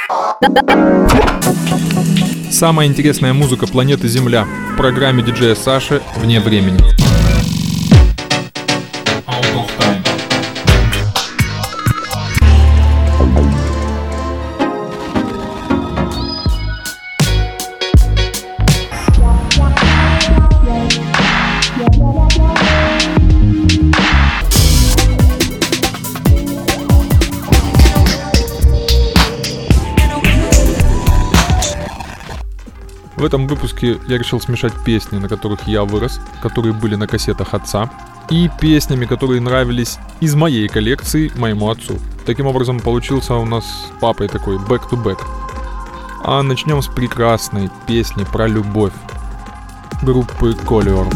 Самая интересная музыка планеты Земля в программе диджея Саши «Вне времени». В этом выпуске я решил смешать песни, на которых я вырос, которые были на кассетах отца, и песнями, которые нравились из моей коллекции моему отцу. Таким образом, получился у нас с папой такой back-to-back. А начнем с прекрасной песни про любовь группы Collier.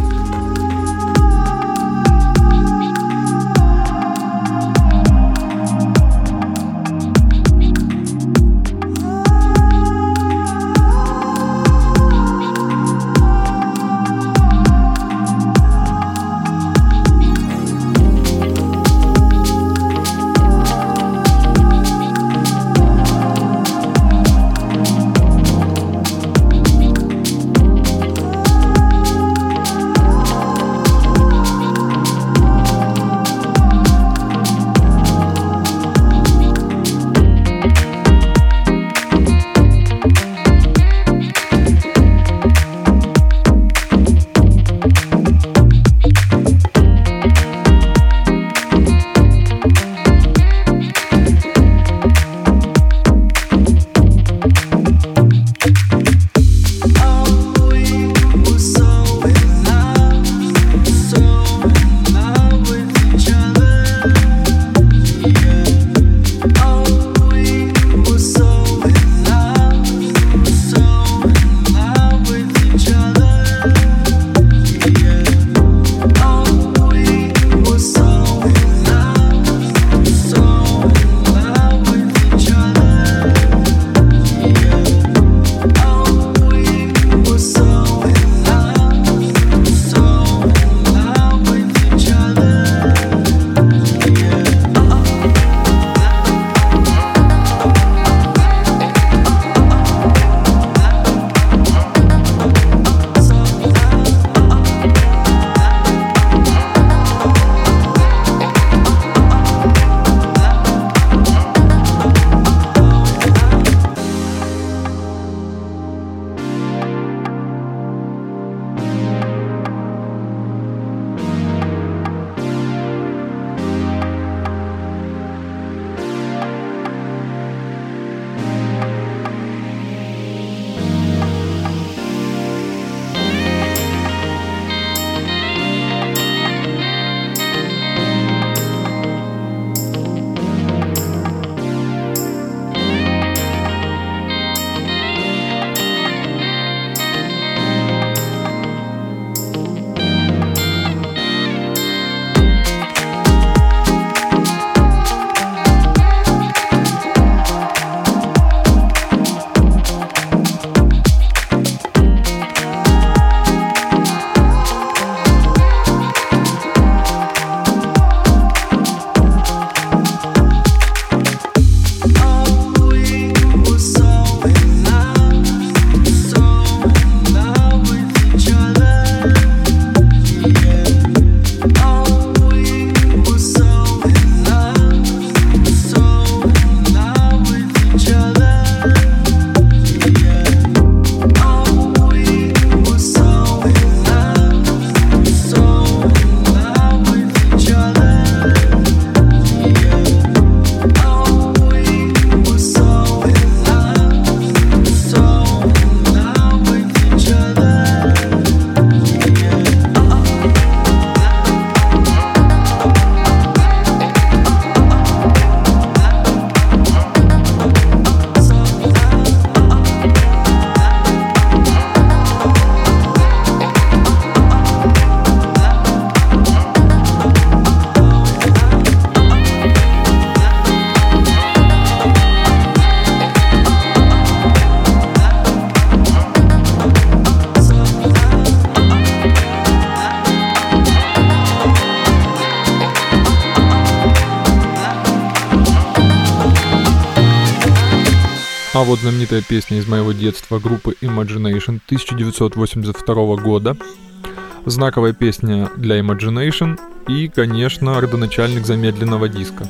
А вот знаменитая песня из моего детства группы Imagination 1982 года. Знаковая песня для Imagination и, конечно, родоначальник замедленного диска.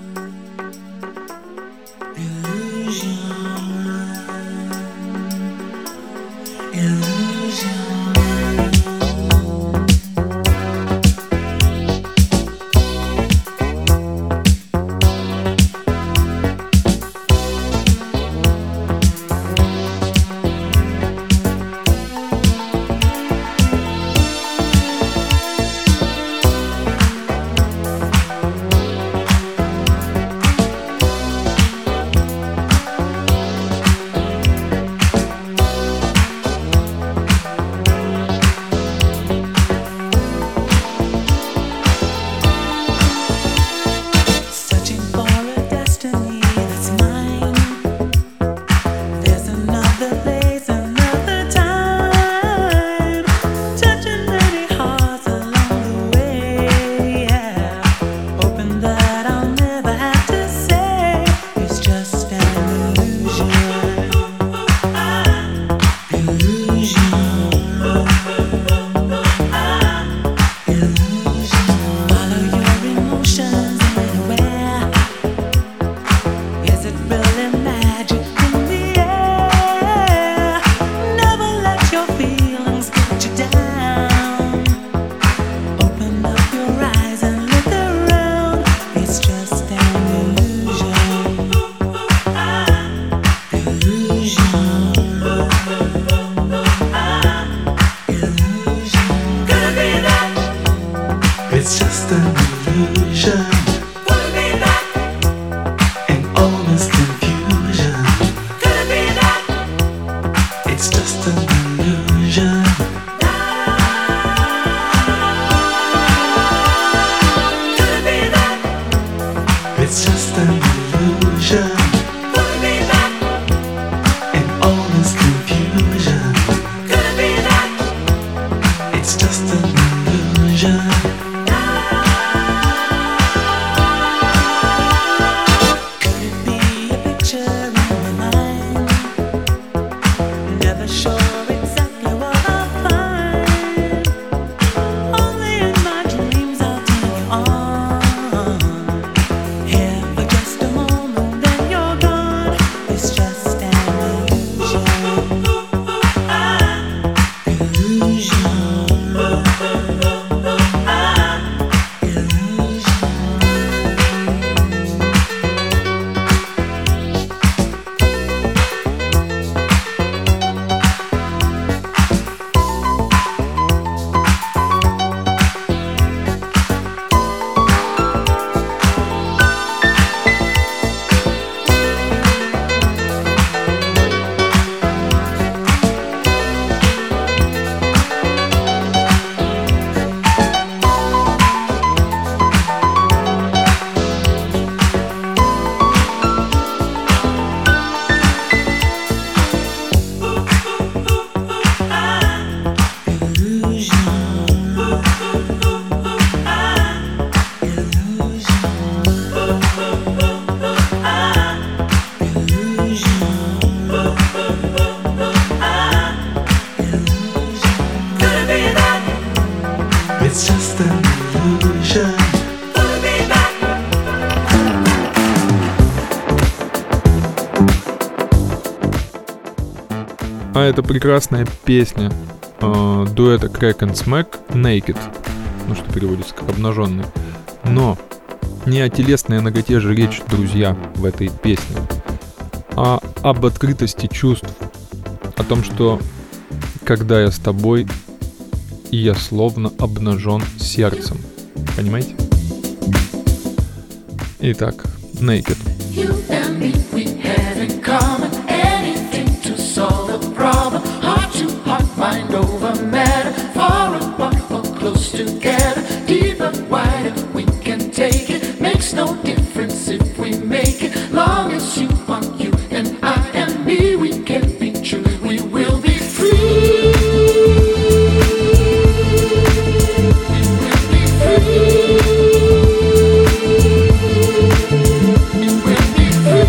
А это прекрасная песня дуэта Crack and Smack Naked, ну что переводится как обнаженный. Но не о телесной наготе же речь, друзья, в этой песне, а об открытости чувств, о том, что когда я с тобой, и я словно обнажен сердцем. Понимаете? Итак, Naked. You and me, we had in common anything to solve the problem. Heart to heart, mind over matter. Far apart or close together. Deeper, wider, we can take it. Makes no difference if we make it. Long as you are you and I and me, we can be true. We will be free. We will be free. We will be free.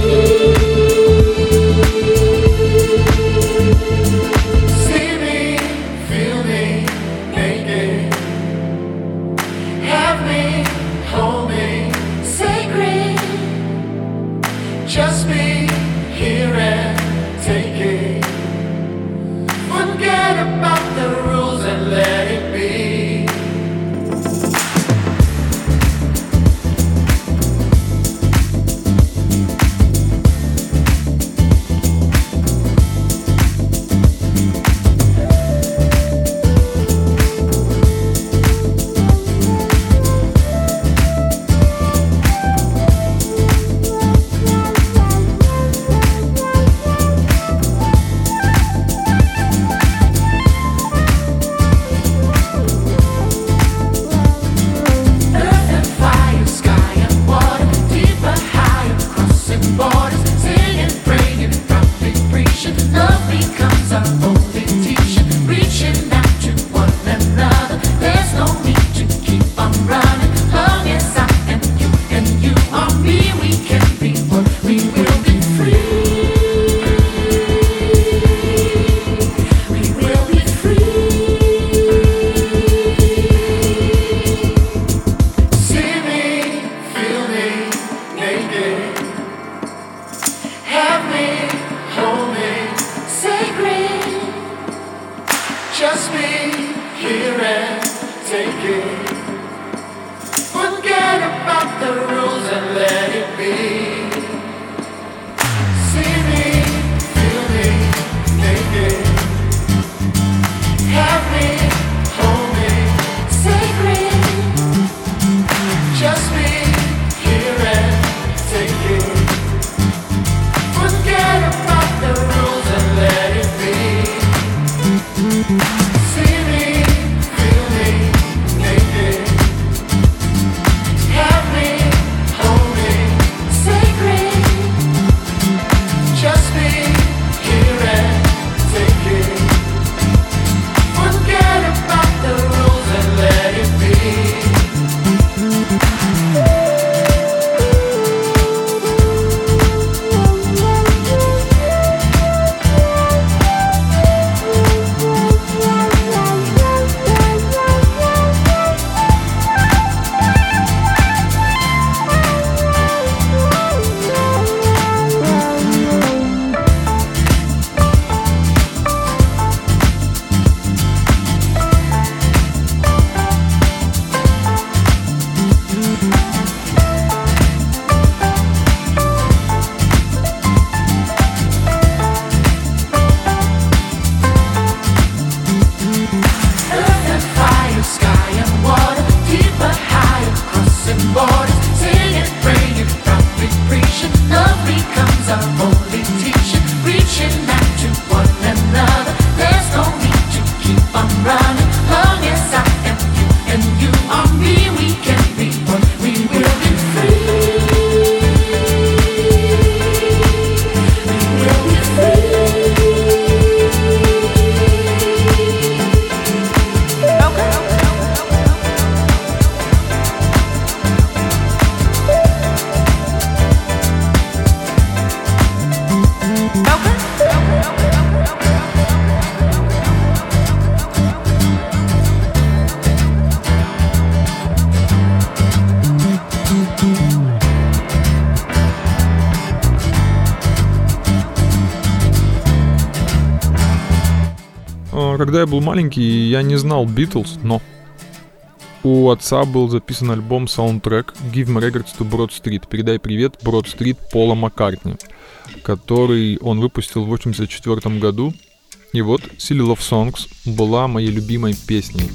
Когда я был маленький, я не знал Beatles, но у отца был записан альбом-саундтрек Give My Regards to Broad Street. Передай привет Broad Street Пола Маккартни, который он выпустил в 1984 году. И вот Silly Love Songs была моей любимой песней.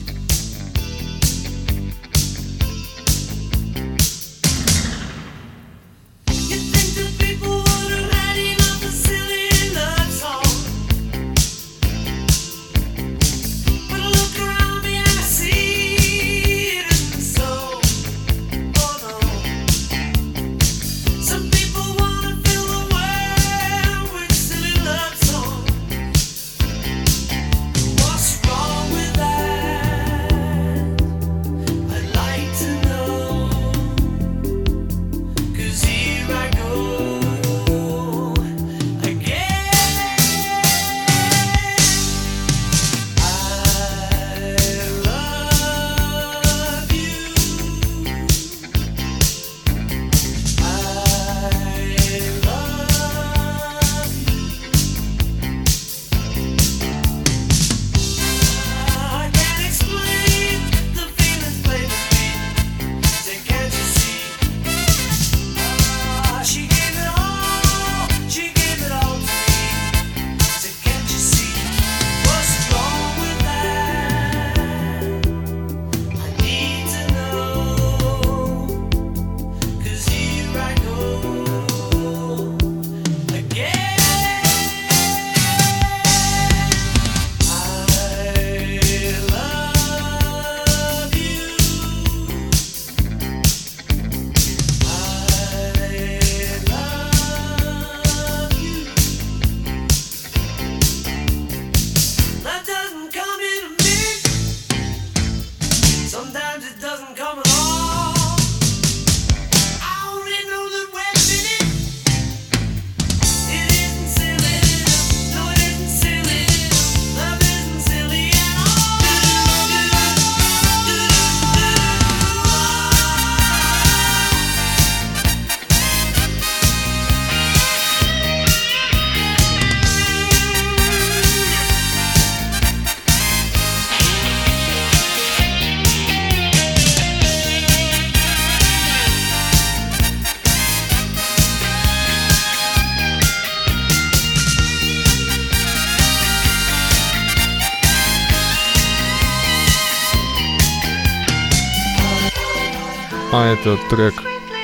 А это трек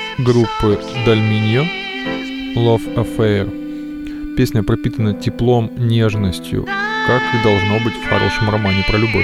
группы Dalminio Love Affair. Песня пропитана теплом, нежностью, как и должно быть в хорошем романе про любовь.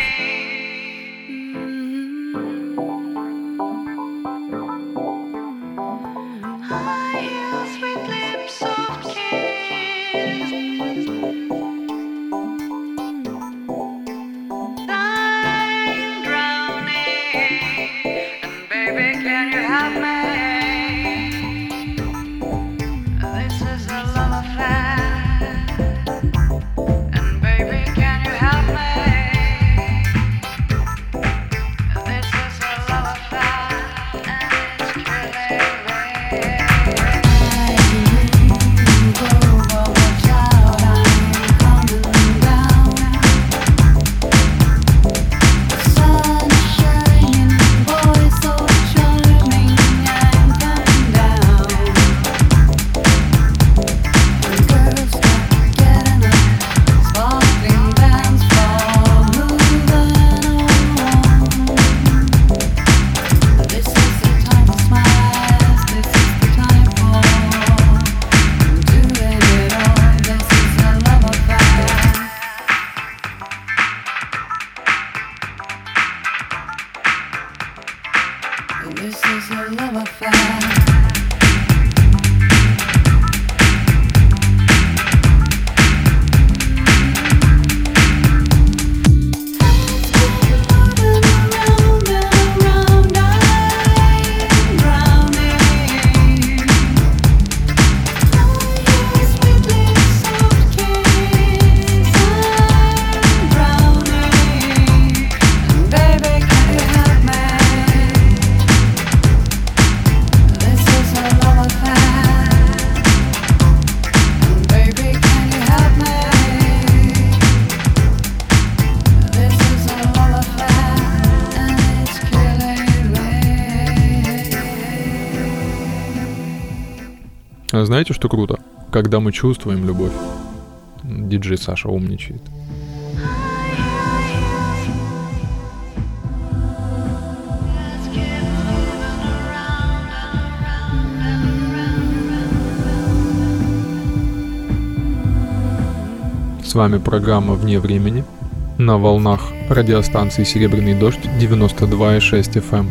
Самое, знаете, что круто? Когда мы чувствуем любовь. Диджей Саша умничает. С вами программа «Вне времени» на волнах радиостанции «Серебряный дождь» 92,6 FM.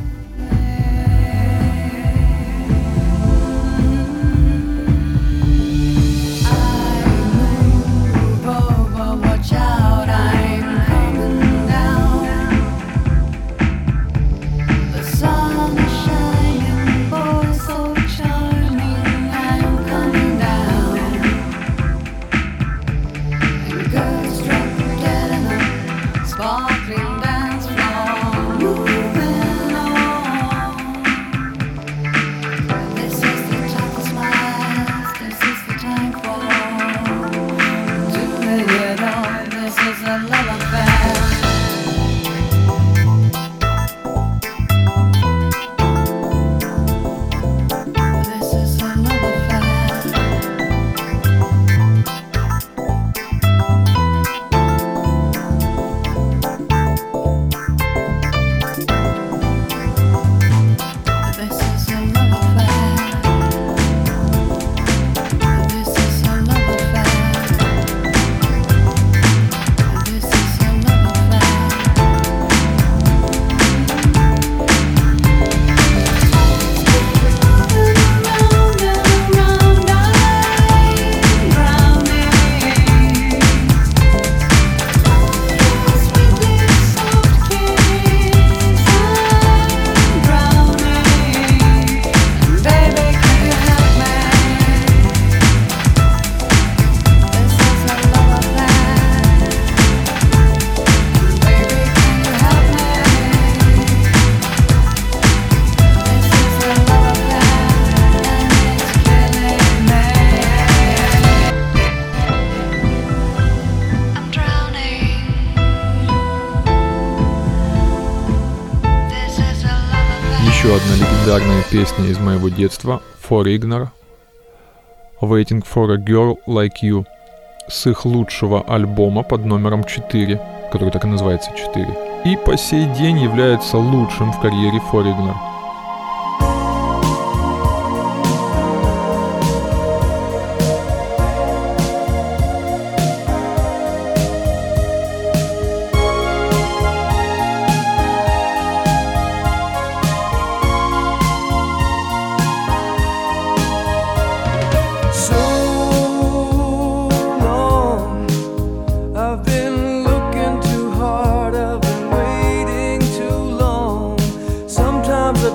Еще одна легендарная песня из моего детства For Ignore, Waiting for a Girl Like You, с их лучшего альбома под номером 4, который так и называется 4, и по сей день является лучшим в карьере For Ignore. Sometimes I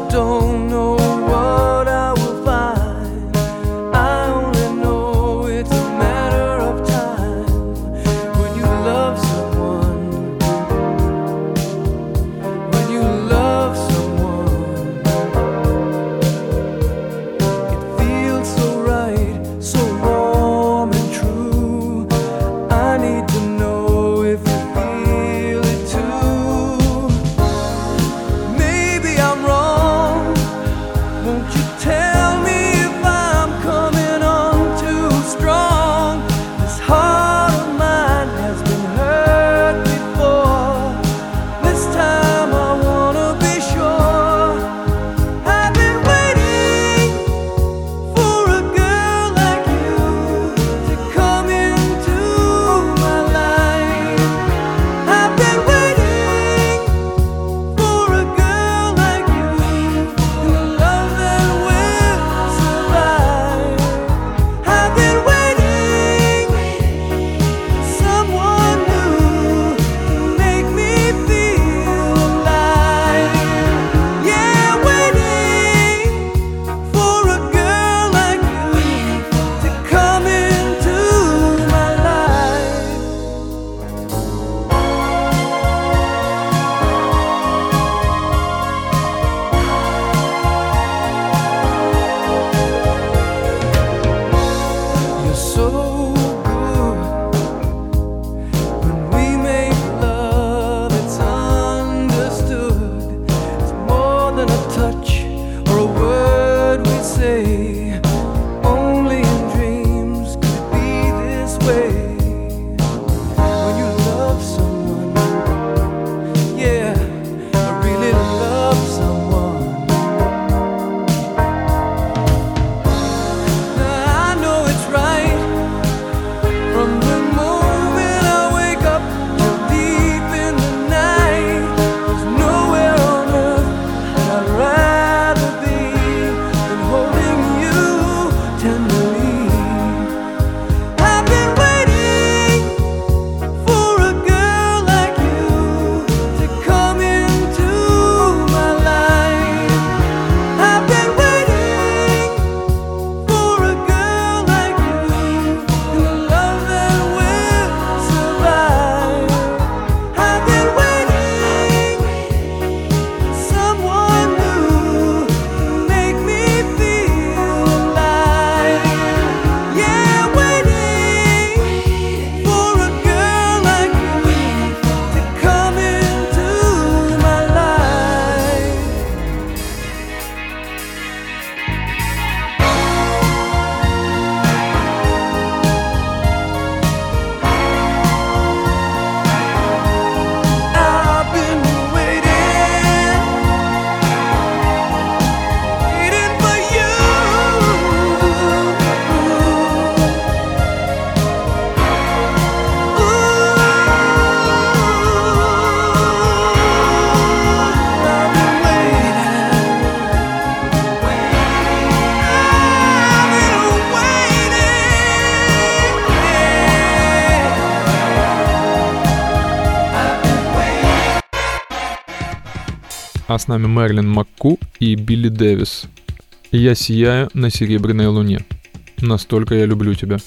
А с нами Мэрилин МакКу и Билли Дэвис. «Я сияю на серебряной луне. Настолько я люблю тебя».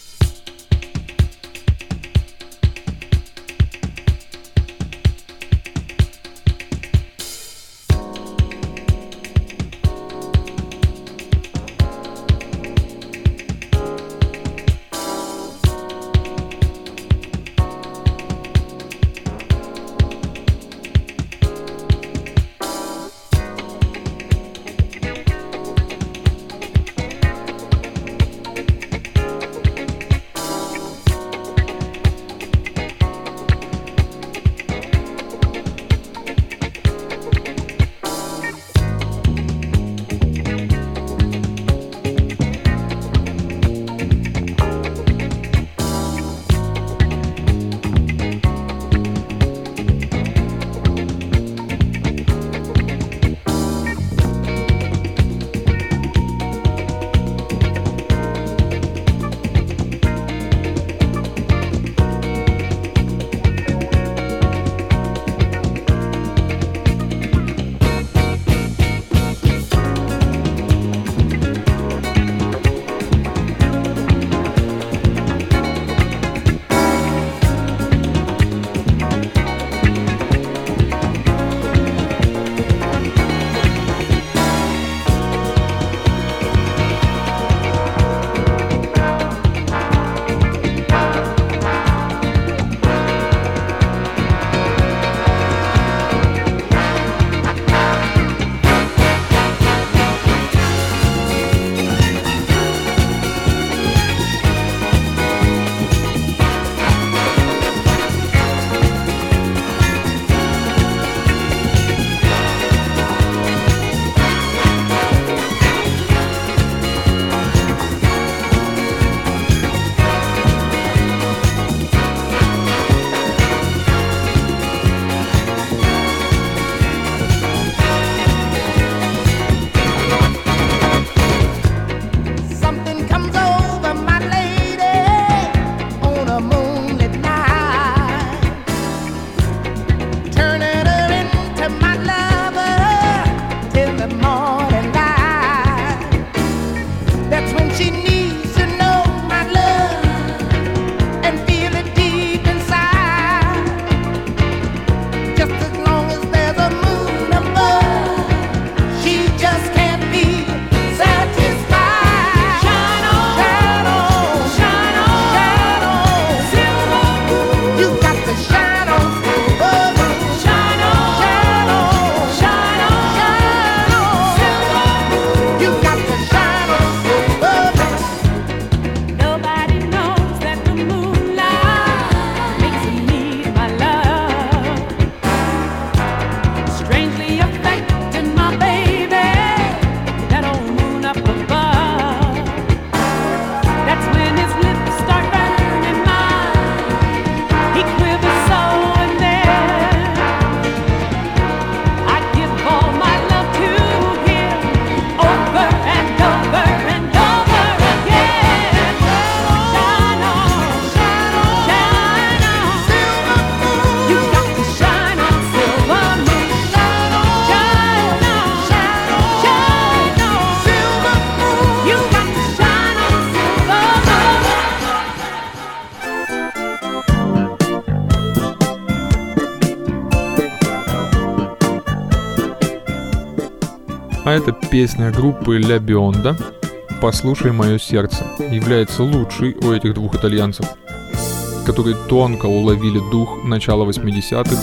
А эта песня группы Ля Бионда «Послушай мое сердце» является лучшей у этих двух итальянцев, которые тонко уловили дух начала 80-х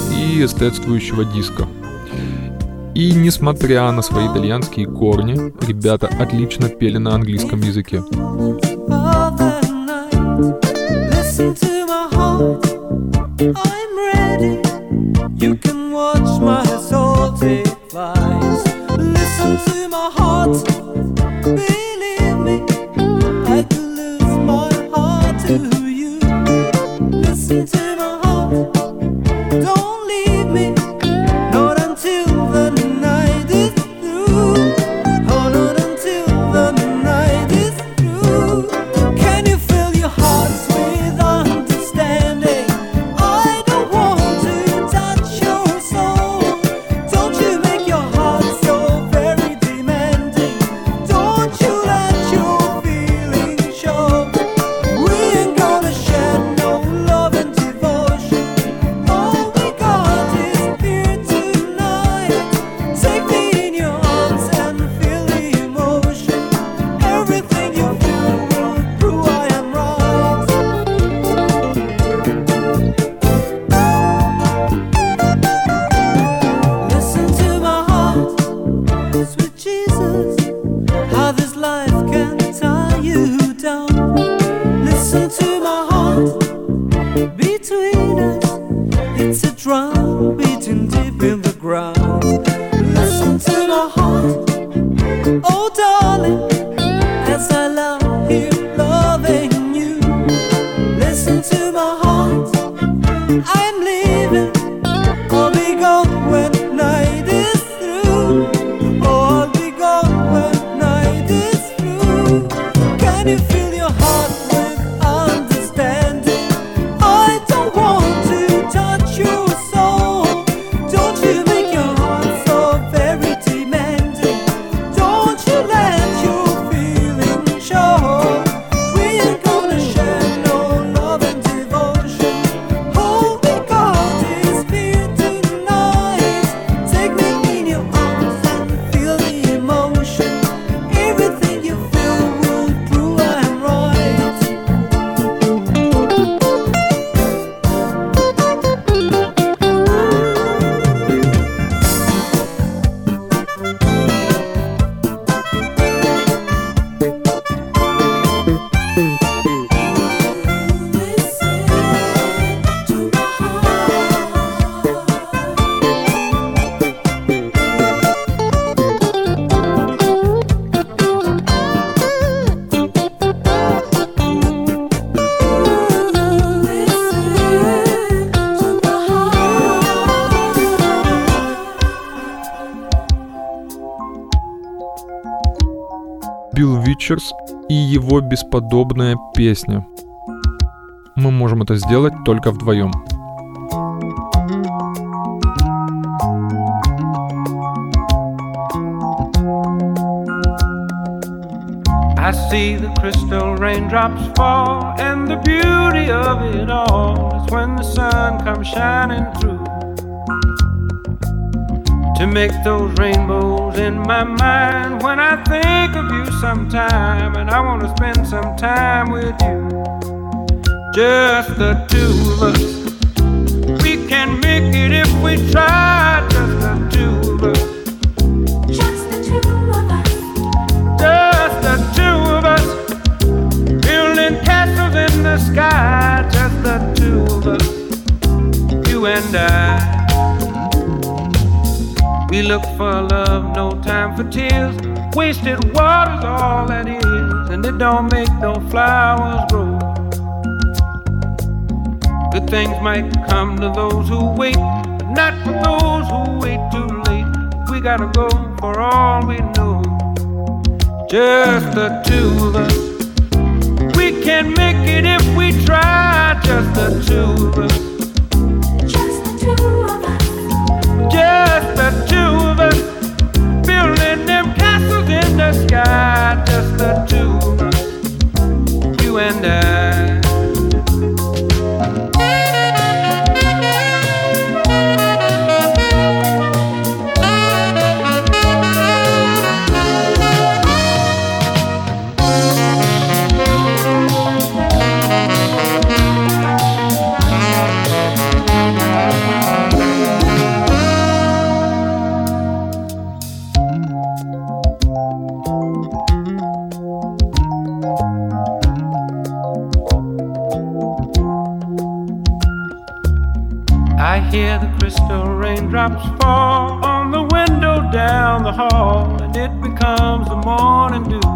и эстетствующего диска. И несмотря на свои итальянские корни, ребята отлично пели на английском языке. Listen to my heart, believe me, I could lose my heart to you. Listen to my heart, don't leave me, not until the night is through. Oh, not until the night is through. Can you fill your hearts with understanding? I don't want to touch your soul. Don't you Richards и его бесподобная песня. Мы можем это сделать только вдвоем. I see the crystal raindrops fall, and the beauty of it all is when the sun comes shining through to make those rainbows in my mind. When I think of you sometime, and I want to spend some time with you, just the two of us. We can make it if we try, just the two of us. Just the two of us. Just the two of us, building castles in the sky. Just the two of us, you and I. We look for love, no time for tears. Wasted water's all that is, and it don't make no flowers grow. Good things might come to those who wait, but not for those who wait too late. We gotta go for all we know. Just the two of us. We can make it if we try. Just the two of us. Just the two of us. Just the two of us. Building them castles in the sky. Just the two of us. You and I. I hear the crystal raindrops fall on the window down the hall, and it becomes the morning dew.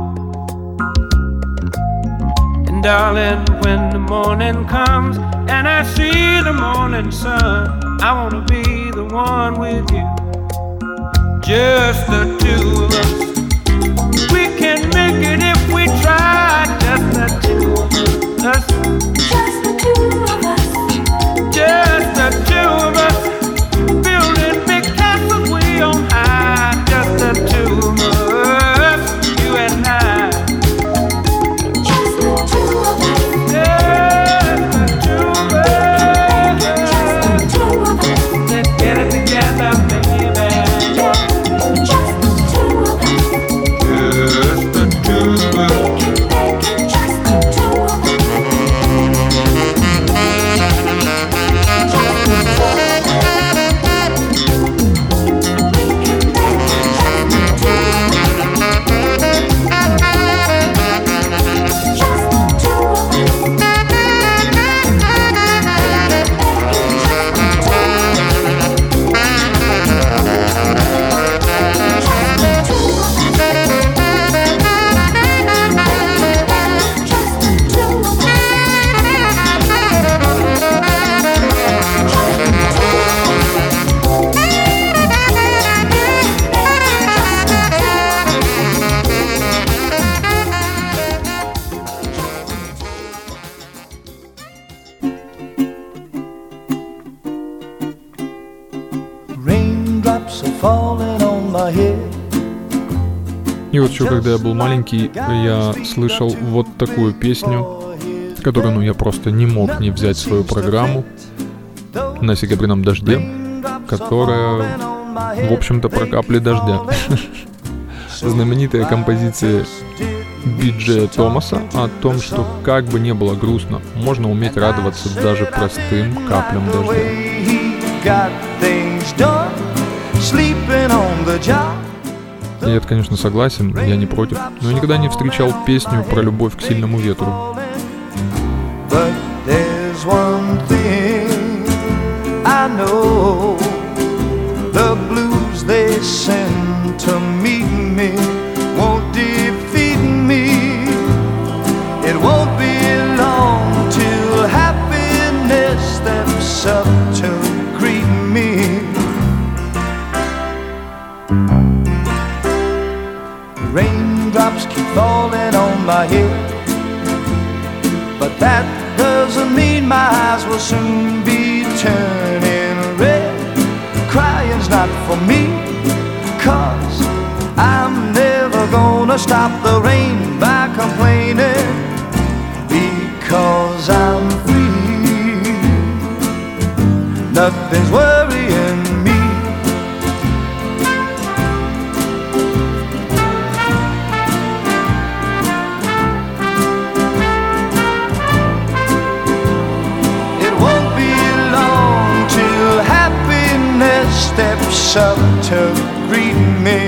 And darling, when the morning comes and I see the morning sun, I wanna be the one with you. Just the two of us. We can make it if we try. Just the two of us. Just the two of us. Just the two of us, building big castles way on high. Just the two of us, you and I. Just the two of us. Just the two of us. Just the two of us. Let's get it together, baby. Just the two of us. Just the two of us. Just the two of us. Raindrops are falling on my head. И вот еще когда я был маленький, я слышал вот такую песню, которую, я просто не мог не взять в свою программу на «Серебряном дожде», которая, в общем-то, про капли дождя. Знаменитая композиция Би-Джея Томаса о том, что как бы ни было грустно, можно уметь радоваться даже простым каплям дождя. Я, конечно, согласен, я не против, но я никогда не встречал песню про любовь к сильному ветру. Raindrops keep falling on soon be turning red. Crying's not for me, 'cause I'm never gonna stop the rain by complaining, because I'm free. Nothing's worrying me. It won't be long till happiness steps up to greet me.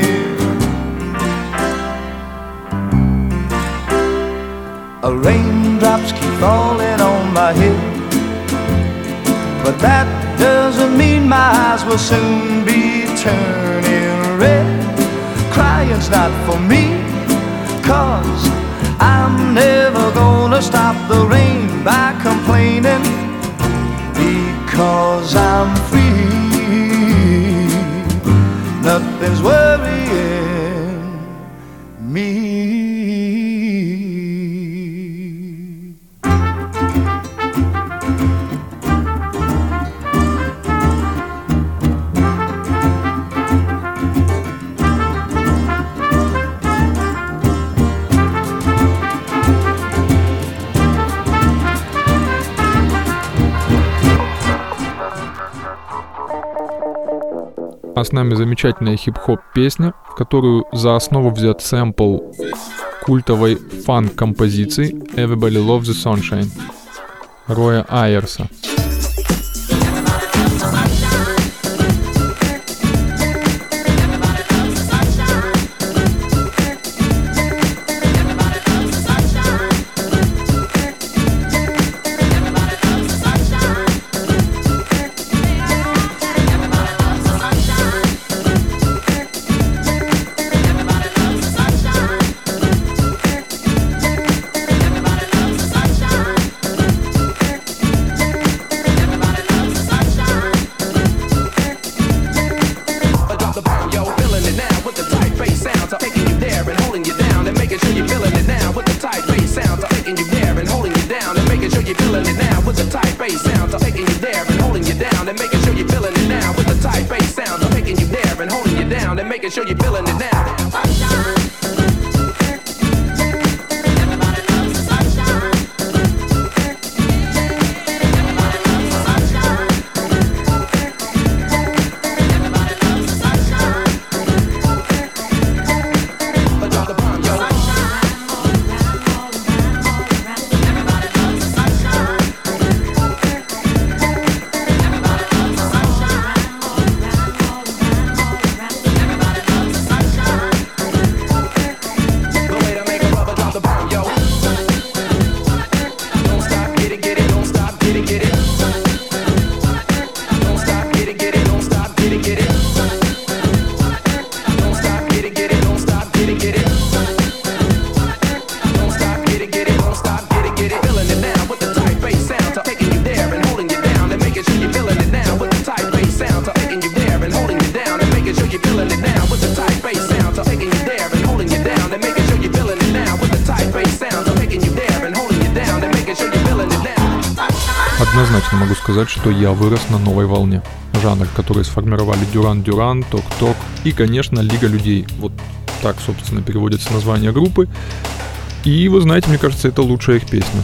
Raindrops keep falling on my head, but that doesn't mean my eyes will soon be turning red. Crying's not for me, 'cause I'm never gonna stop the rain by complaining, because I'm free. Nothing's worrying me. А с нами замечательная хип-хоп песня, в которую за основу взят сэмпл культовой фанк-композиции «Everybody Loves the Sunshine» Роя Айерса. Однозначно могу сказать, что я вырос на новой волне. Жанр, который сформировали Дюран Дюран, Ток Ток и, конечно, Лига людей. Вот так, собственно, переводится название группы. И, вы знаете, мне кажется, это лучшая их песня.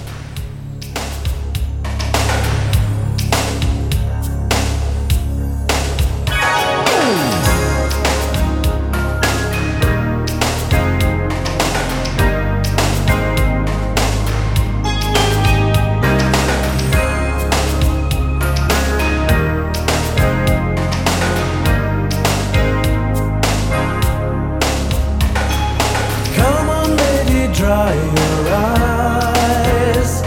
Dry your eyes.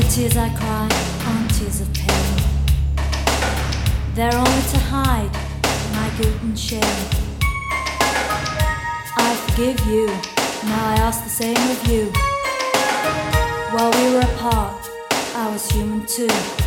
tears I cry aren't tears of pain. They're only to hide my guilt and shame. I forgive you, now I ask the same of you. While we were apart, I was human too.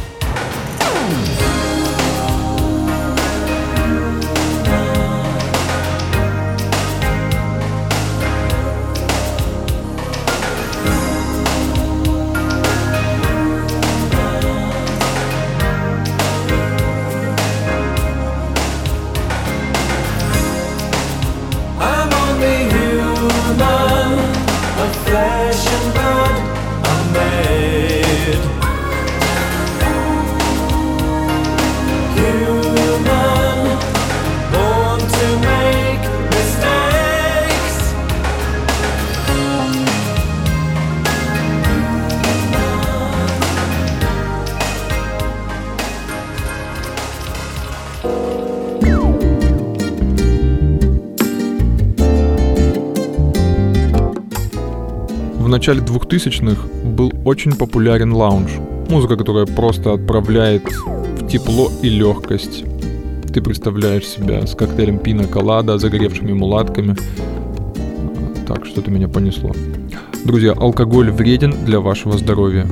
Flesh and blood, I'm made human, born to make mistakes. В начале 2000-х был очень популярен лаунж. Музыка, которая просто отправляет в тепло и легкость. Ты представляешь себя с коктейлем пина колада, загоревшими мулатками. Так, что-то меня понесло. Друзья, алкоголь вреден для вашего здоровья.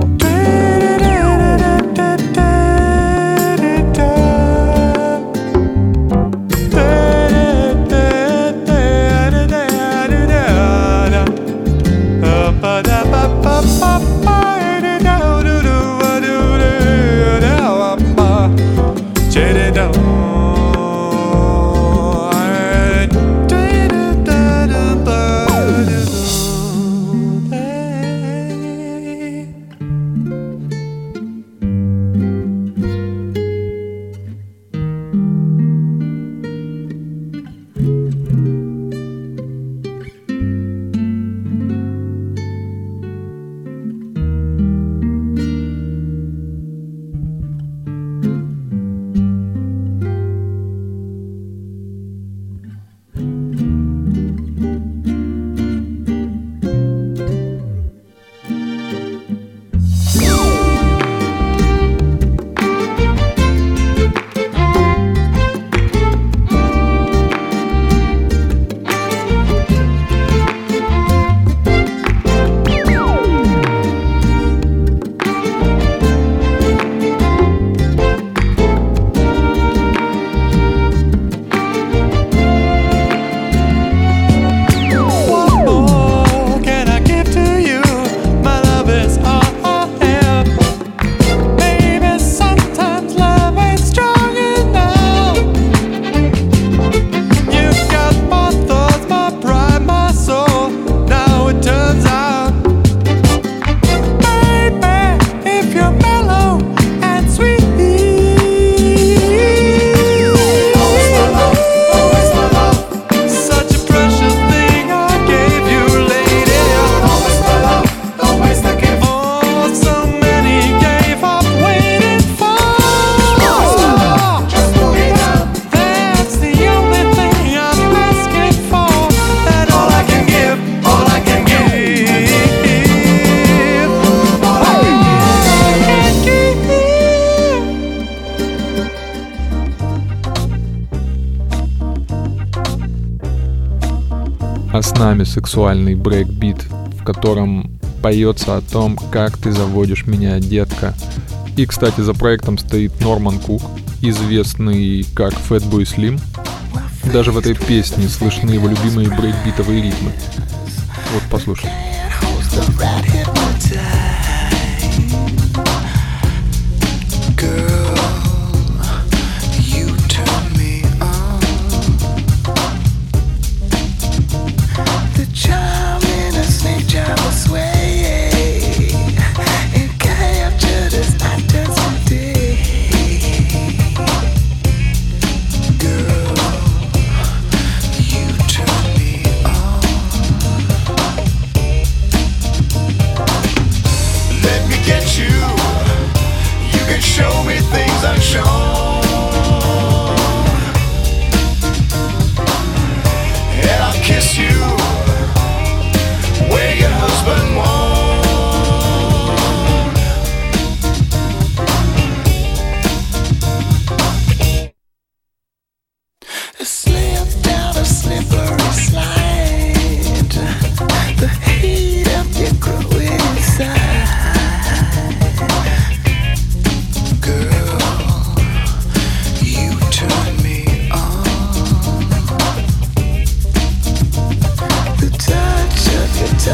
А с нами сексуальный брейкбит, в котором поется о том, как ты заводишь меня, детка. И, кстати, за проектом стоит Норман Кук, известный как Fatboy Slim. Даже в этой песне слышны его любимые брейкбитовые ритмы. Вот, послушай.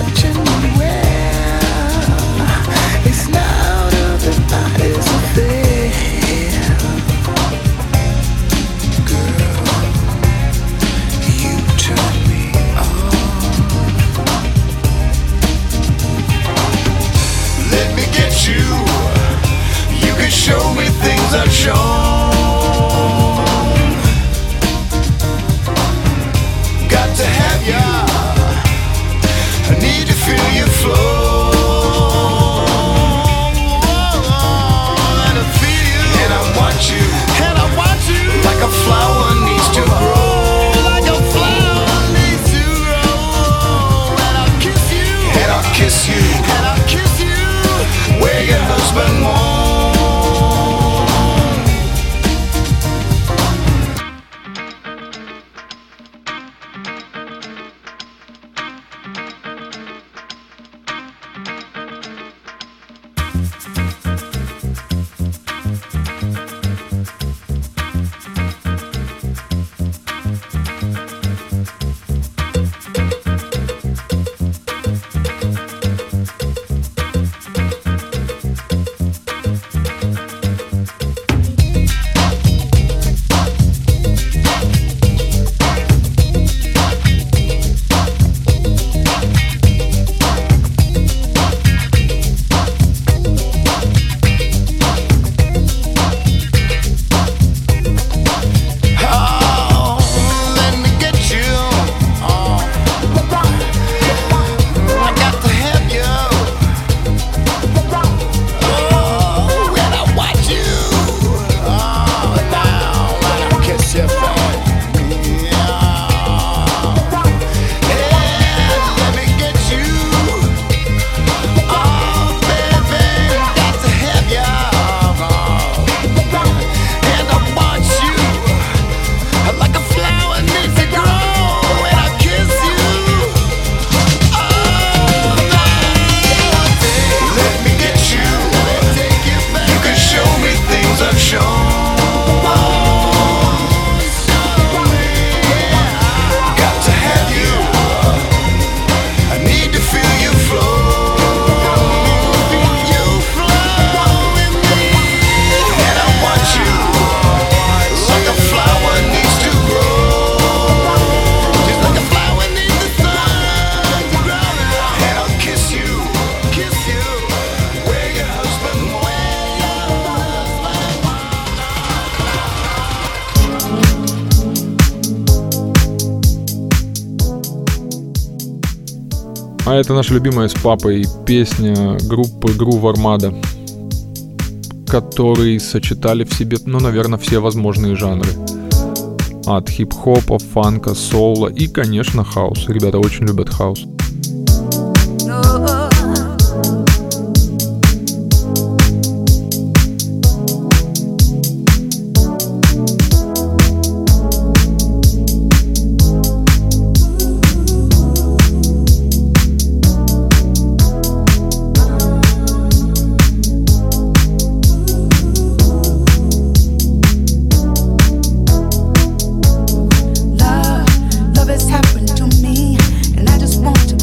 touching me well. It's not of the body's affair. Girl, you turn me on. Let me get you. You can show me things I've shown. Got to have ya. I need to feel your flow. And I feel you. And I want you. And I want you. Like a flower needs to grow. Like a flower needs to grow. And I'll kiss you. And I'll kiss you. And I'll kiss you. Where your husband won't. А это наша любимая с папой песня группы Groove Armada, которые сочетали в себе, наверное, все возможные жанры. От хип-хопа, фанка, соула и, конечно, хаус. Ребята очень любят хаус. Love has happened to me, and I just want to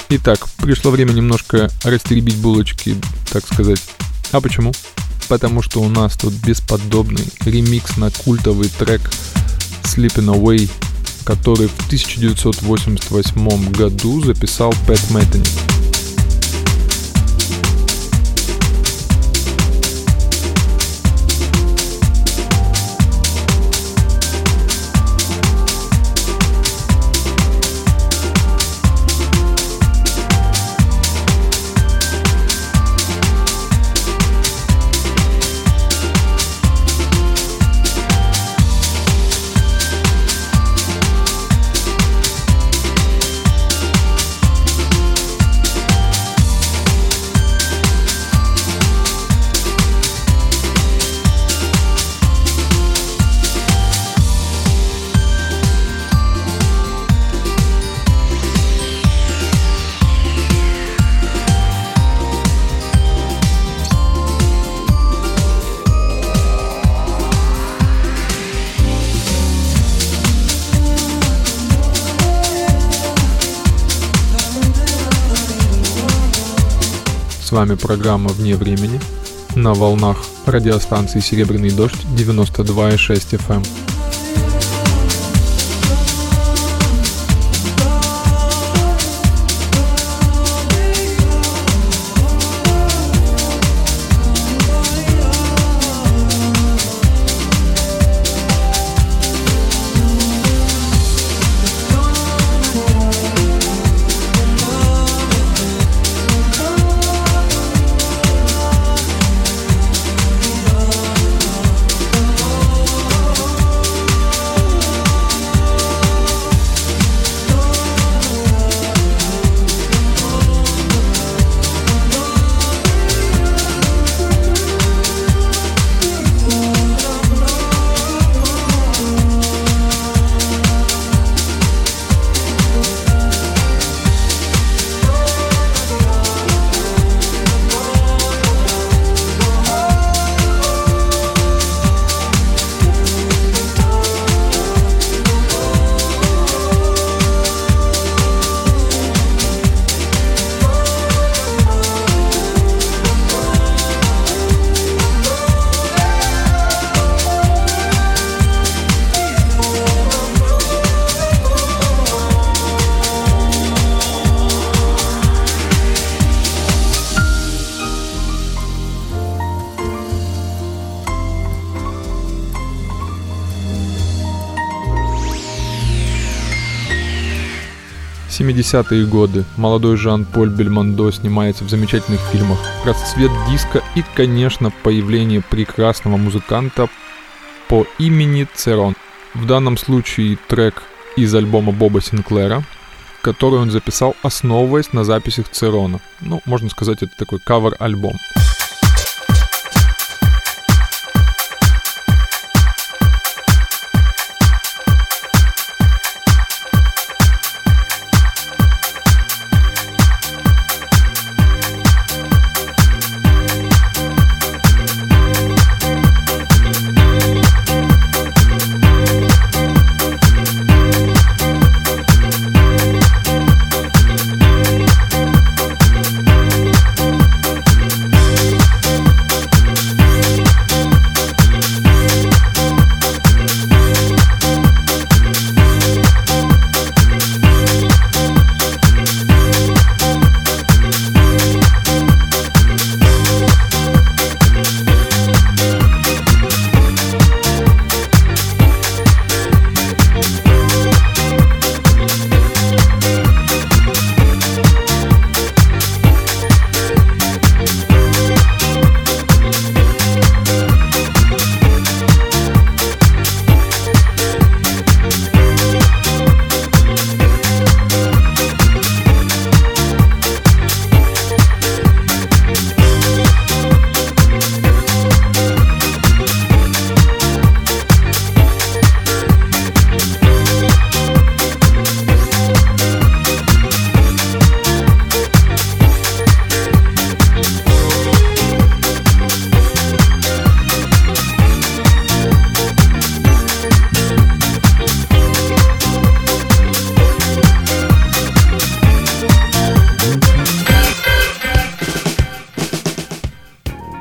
Итак, пришло время немножко растеребить булочки, так сказать. А почему? Потому что у нас тут бесподобный ремикс на культовый трек Sleeping Away, который в 1988 году записал Пэт Мэттани. С вами программа «Вне времени» на волнах радиостанции «Серебряный дождь» 92,6 FM. В 70-е годы молодой Жан-Поль Бельмондо снимается в замечательных фильмах, расцвет диска и, конечно, появление прекрасного музыканта по имени Церон. В данном случае трек из альбома Боба Синклера, который он записал, основываясь на записях Церона. Ну, можно сказать, это такой кавер-альбом.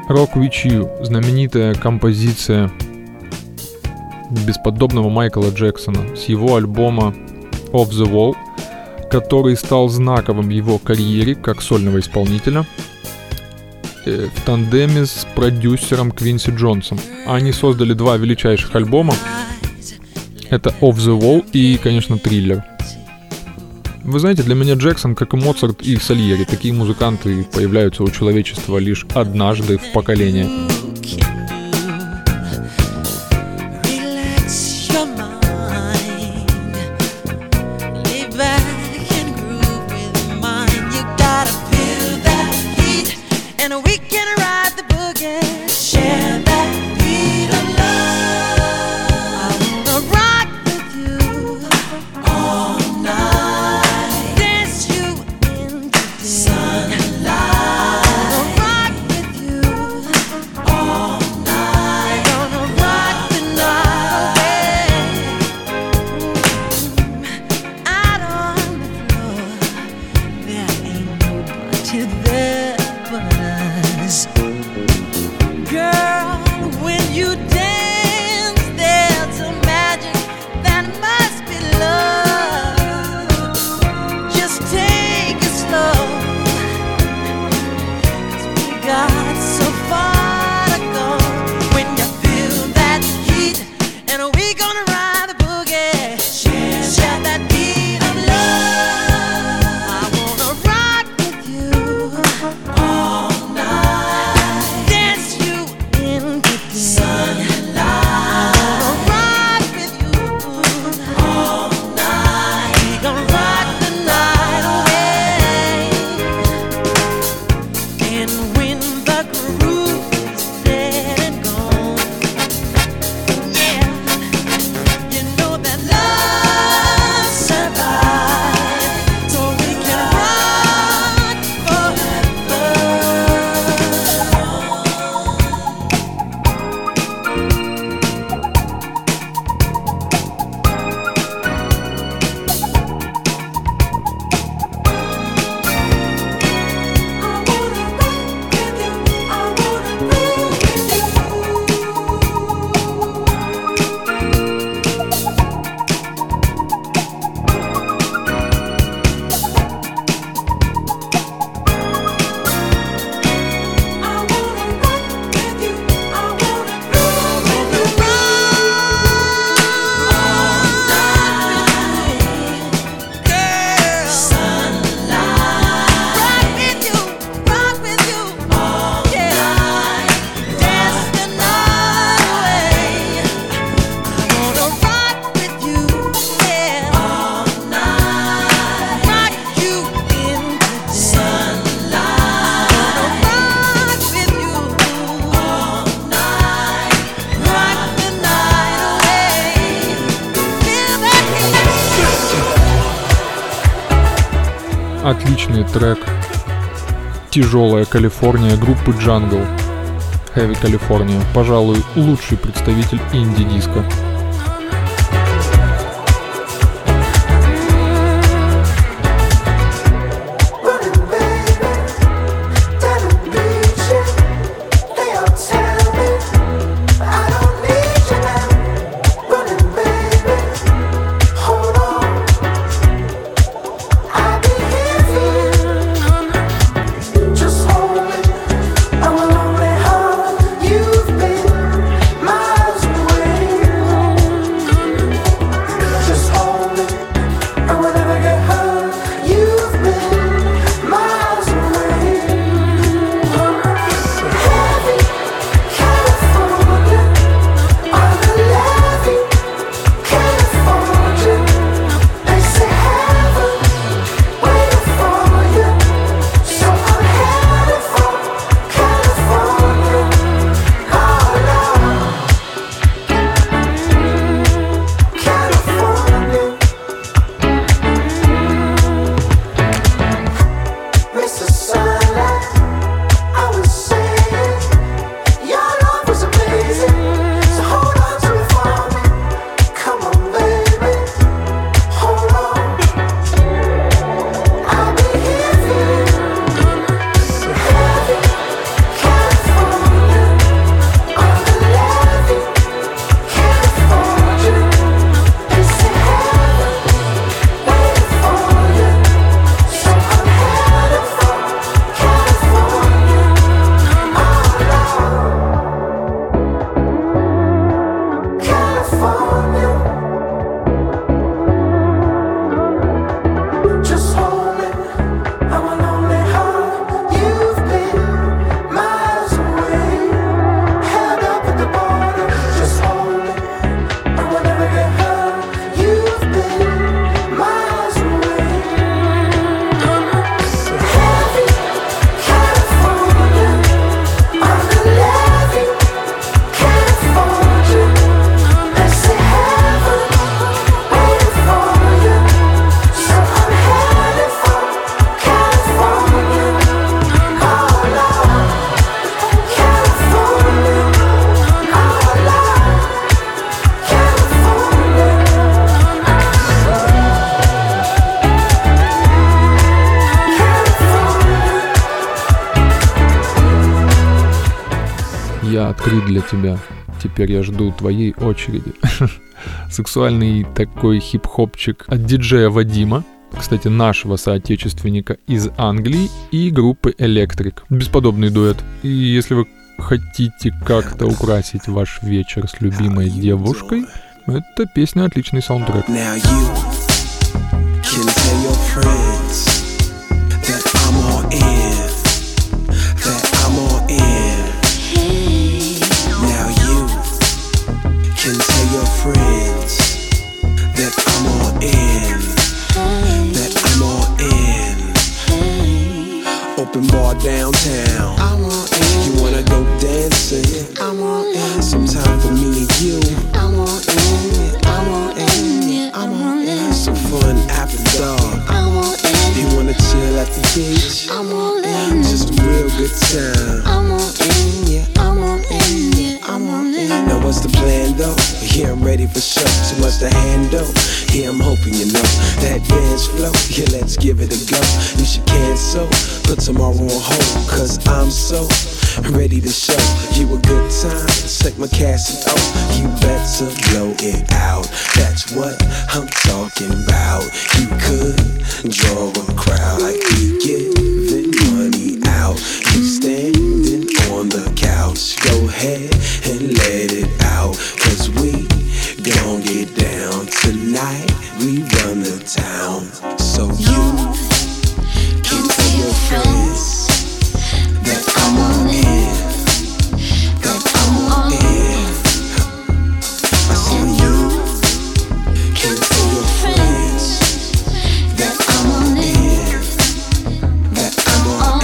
Rock With You, знаменитая композиция бесподобного Майкла Джексона с его альбома Off the Wall, который стал знаковым в его карьере как сольного исполнителя в тандеме с продюсером Квинси Джонсом. Они создали два величайших альбома. Это Off the Wall и, конечно, Thriller. Вы знаете, для меня Джексон, как и Моцарт и Сальери, такие музыканты появляются у человечества лишь однажды в поколении. Отличный трек «Тяжелая Калифорния» группы Jungle. Heavy California. Пожалуй, лучший представитель инди-диска. Miles away. Я открыт для тебя. Теперь я жду твоей очереди. Сексуальный такой хип-хопчик от диджея Вадима. Кстати, нашего соотечественника из Англии и группы Electric. Бесподобный дуэт. И если вы хотите как-то украсить ваш вечер с любимой девушкой, эта песня отличный саундтрек. Open bar downtown. I want in. You wanna go dancing? I want in. Some time for me and you. I want in. I want in. I want in. Some fun after dark. I want in. You wanna chill at the beach? I want in. Just a real good time. I want in. Yeah, I want in. Yeah, I want in. Now what's the plan though? Here I'm ready for show. So much to handle. Here I'm hoping you know that dance flow. Yeah, let's give it a go. You should cancel. Put tomorrow on hold, cause I'm so ready to show you a good time. It's like my Casio, you better blow it out. That's what I'm talking about. You could draw a crowd like we giving money out. You standing on the couch, go ahead and let it out. Cause we gon' get down tonight. We run the town. So you can tell your friends that I'm on in, that I'm on in. I said you can tell your friends that I'm on in, that I'm on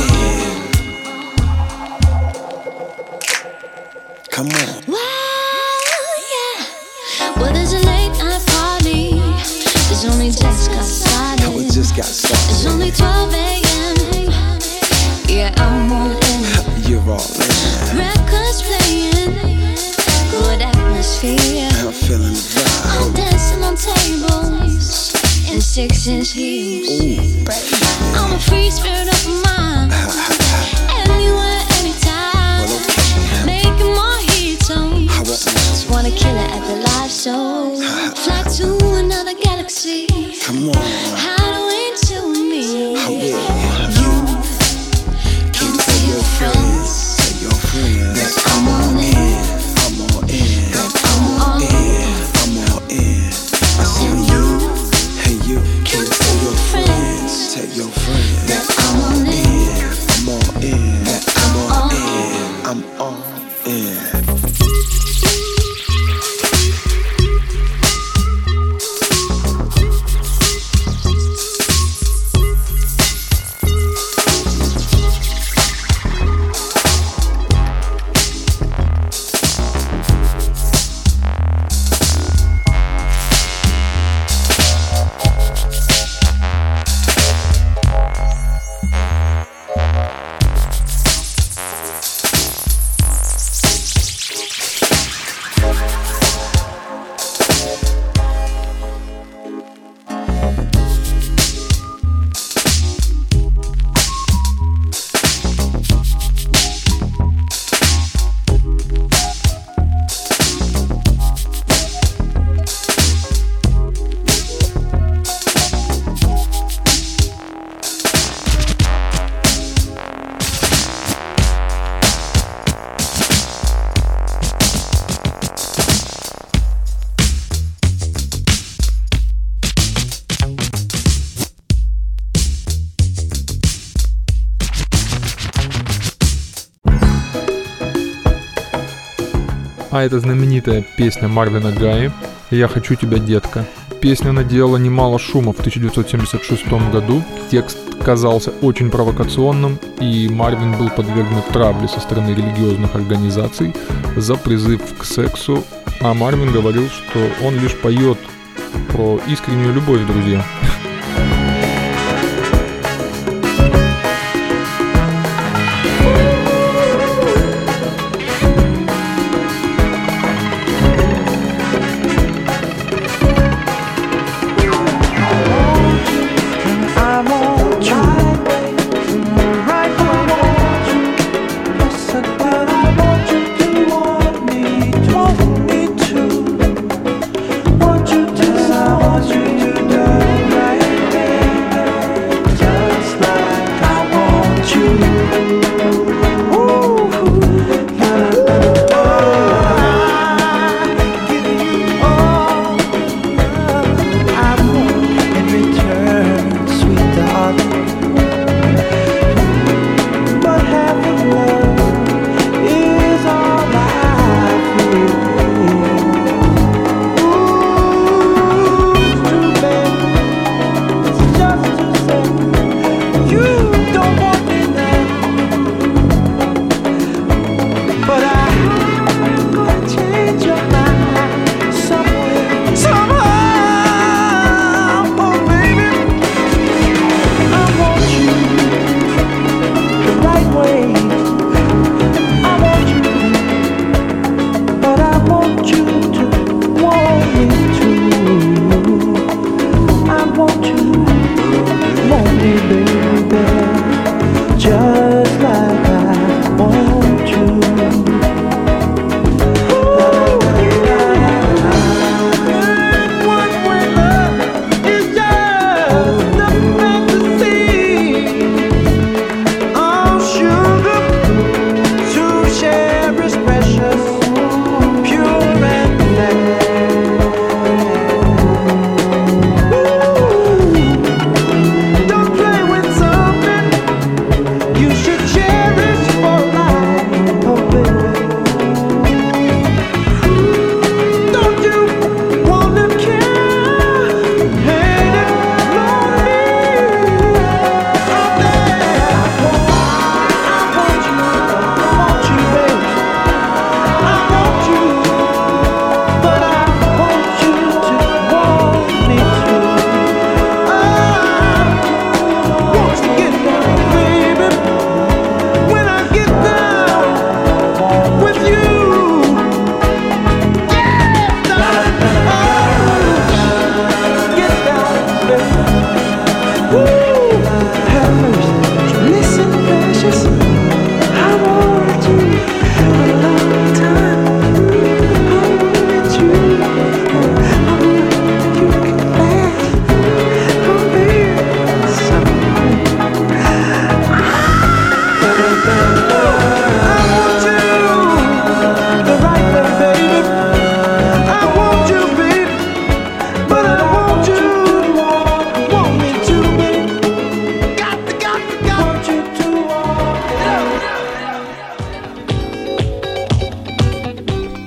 in. Come on. Well, yeah. Well, there's a late night party. It's only just got started. Oh, it just got started. It's only 12 a.m. Yeah, I'm all in. You're all in. Records playing. Good atmosphere. I'm feeling the vibe. I'm dancing on tables in 6-inch heels. Ooh, baby. I'm a free spirit of mind. Anywhere, anytime. Well, okay. Making more hits on. I want that. Wanna kill it at the live show. Fly to another galaxy. Come on. Hideaway to me. I will. You can tell your friends, tell your friends that I'm all in, I'm all in, that I'm all in, I'm all in. I said you, hey you can tell your friends, tell your friends that I'm all in, I'm all in, that I'm all in, I'm all in. А это знаменитая песня Марвина Гаи «Я хочу тебя, детка». Песня наделала немало шума в 1976 году. Текст казался очень провокационным, и Марвин был подвергнут травле со стороны религиозных организаций за призыв к сексу. А Марвин говорил, что он лишь поет про искреннюю любовь, друзья. I want you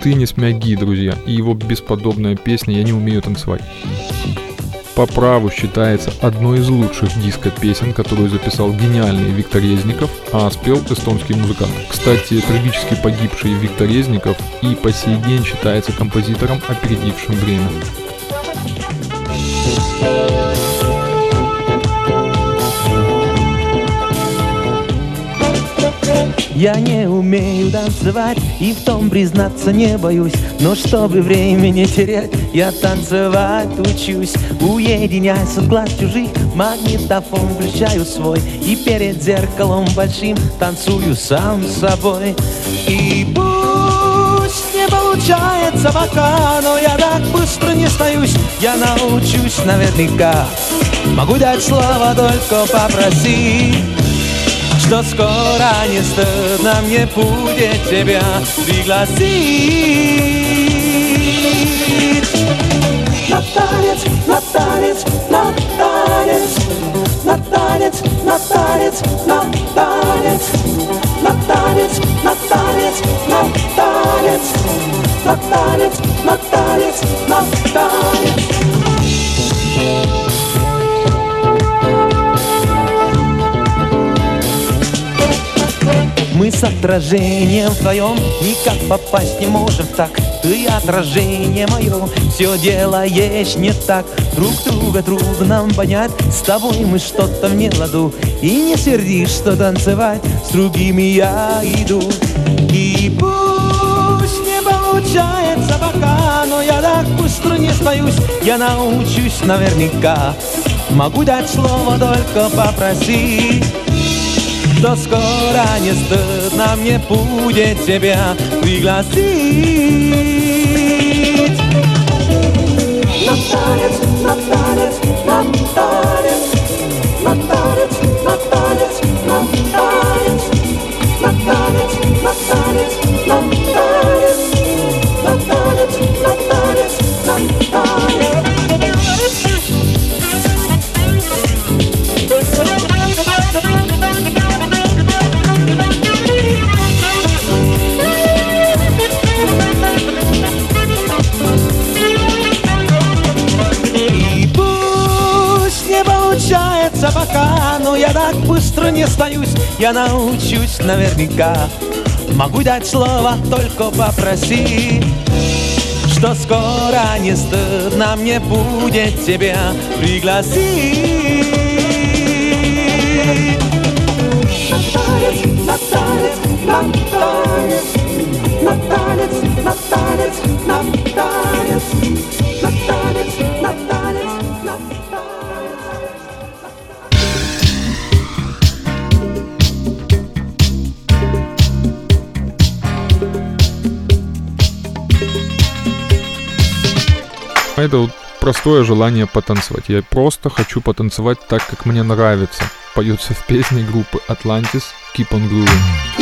Тынис Мяги, друзья, и его бесподобная песня «Я не умею танцевать». По праву считается одной из лучших диско-песен, которую записал гениальный Виктор Резников, а спел эстонский музыкант. Кстати, трагически погибший Виктор Резников и по сей день считается композитором, опередившим время. Я не умею танцевать и в том признаться не боюсь, но чтобы время не терять, я танцевать учусь. Уединяясь от глаз чужих, магнитофон включаю свой и перед зеркалом большим танцую сам с собой. И пусть не получается пока, но я так быстро не сдаюсь, я научусь наверняка. Могу дать слово, только попроси, что скоро не стыдно мне будет тебя пригласить. На танец, на танец, на танец, на танец, на танец, на танец, на танец, на танец, на танец, на танец, на танец, на танец. Мы с отражением вдвоем никак попасть не можем так. Ты отражение мое, все делаешь не так. Друг друга трудно понять, с тобой мы что-то в неладу. И не сердишь, что танцевать с другими я иду. И пусть не получается пока, но я так быстро не сдаюсь, я научусь наверняка. Могу дать слово, только попроси, что скоро не стыдно мне будет тебя пригласить. На танец, на танец, на танец, на танец, на танец, на танец, на танец, на танец, на танец, на танец, на танец, на танец. Пока, но я так быстро не сдаюсь, я научусь наверняка. Могу дать слово, только попроси, что скоро не стыдно мне будет тебя пригласить. На танец, на танец, на танец, на танец, на танец, на танец, на танец, на танец, на танец. Это вот простое желание потанцевать. Я просто хочу потанцевать так, как мне нравится. Поется в песне группы Atlantis «Keep on Grooving».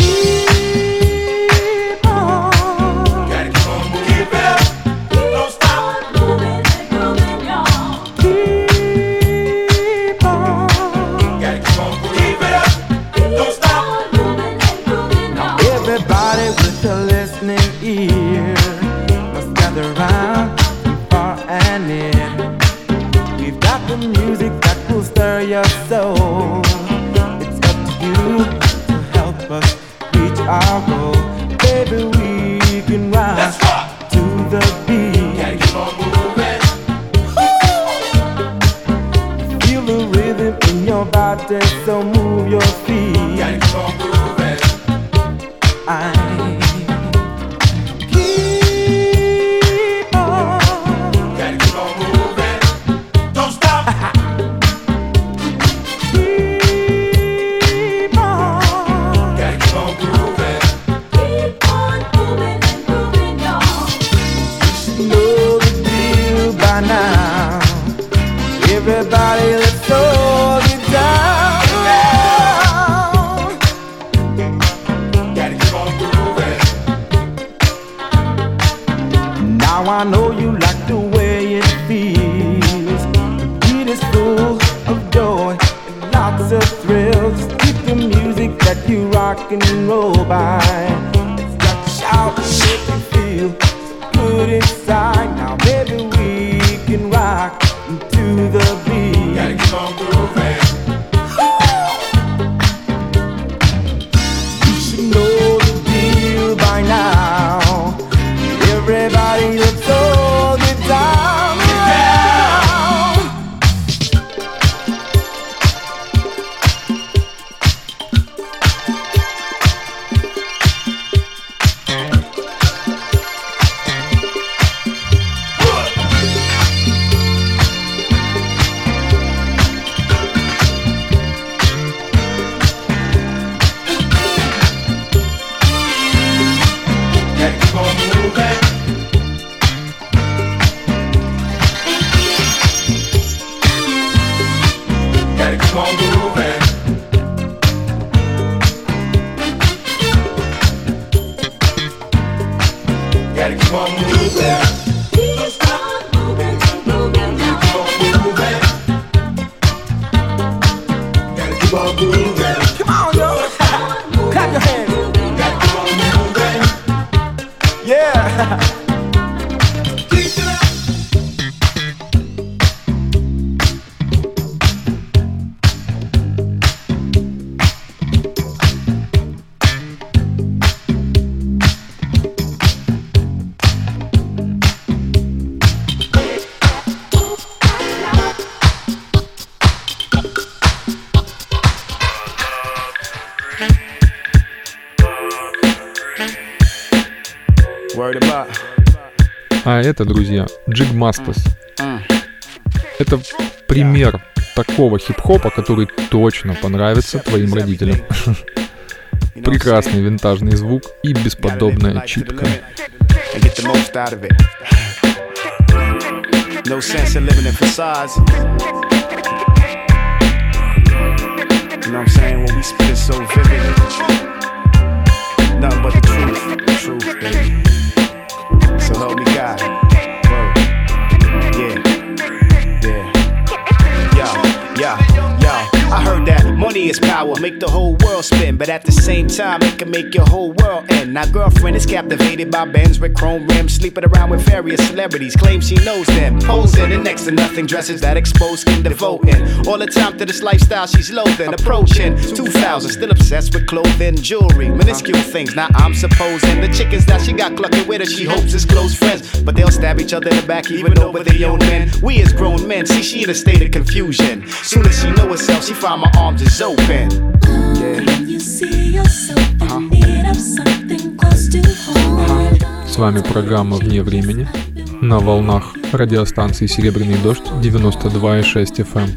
Soul. It's up to you to help us reach our goal. Baby, we can rock to the beat. Gotta keep on moving. Feel the rhythm in your body, so move your feet. Gotta keep on moving. Everybody, let's all get down. Gotta keep on grooving. Now I know you like the way it feels. The beat is full of joy and lots of thrills. Just keep the music that you rock and roll by. It's got to shout and make you feel. good inside. Now maybe we can rock to the beat. Gotta keep on grooving. You should know the deal by now. Everybody, let's all get down around. А это, друзья, Jig Masters. Это пример такого хип-хопа, который точно понравится твоим родителям. Прекрасный винтажный звук и бесподобная читка. So help me God. Word. Yeah. I heard that money is power, make the whole world spin, but at the same time, it can make your whole world end. Now, girlfriend is captivated by Benz with chrome rims, sleeping around with various celebrities, claims she knows them, posing and next to nothing, dresses that expose skin, devoting all the time to this lifestyle she's loathing. Approaching 2000, still obsessed with clothing, jewelry, minuscule things. Now I'm supposing the chickens that she got clucking with her, she hopes is close friends, but they'll stab each other in the back, even over their own men. We as grown men, see she in a state of confusion. Soon as she know herself, she find my arms is open. You see yourself in need of something close to home. С вами программа «Вне времени» на волнах радиостанции «Серебряный дождь» 92,6 FM.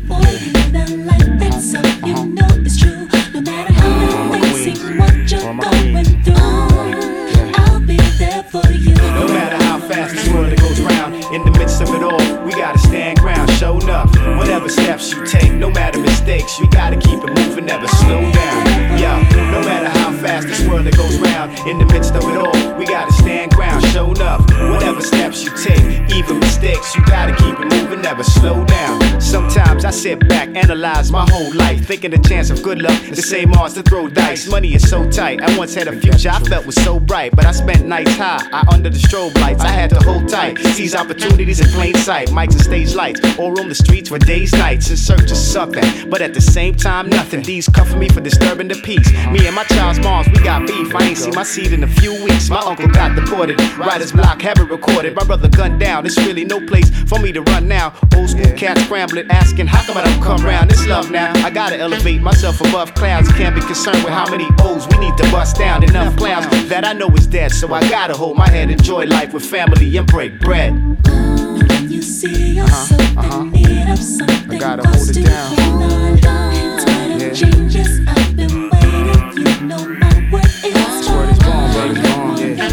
No matter how fast this world goes round, in the midst of it all, we gotta stand ground, show enough. Whatever steps you take, no matter mistakes, you gotta keep it moving, never slow down. Yeah, no matter how fast this world goes round, in the midst of it all, we gotta stand ground, show enough. Whatever steps you take, even mistakes, you gotta keep it moving, never slow down. Sometimes I sit back, analyze my whole life, thinking the chance of good luck, the same odds to throw dice. Money is so tight, I once had a future I felt was so bright, but I spent nights high, under the strobe lights, I had to hold tight, seize opportunities in plain sight, mics and stage lights, or roam the streets for days, nights, in search of something, but at the same time, nothing. These cuffing me for disturbing the peace. Me and my child's moms, we got beef, I ain't seen my seed in a few weeks. My uncle got deported, writer's block, haven't recorded, my brother gunned down, it's really no place for me to run now. Old school cats scrambling, asking, how come I don't come round? It's love now, I gotta elevate myself above clouds, can't be concerned with how many O's we need to bust down. Enough clowns that I know is dead, so I gotta hold my head, enjoy life with family and break bread. You see yourself in need of something. I gotta hold it down. Yeah. Changes, I've been waiting. You know my word is word is born, word is born, yeah.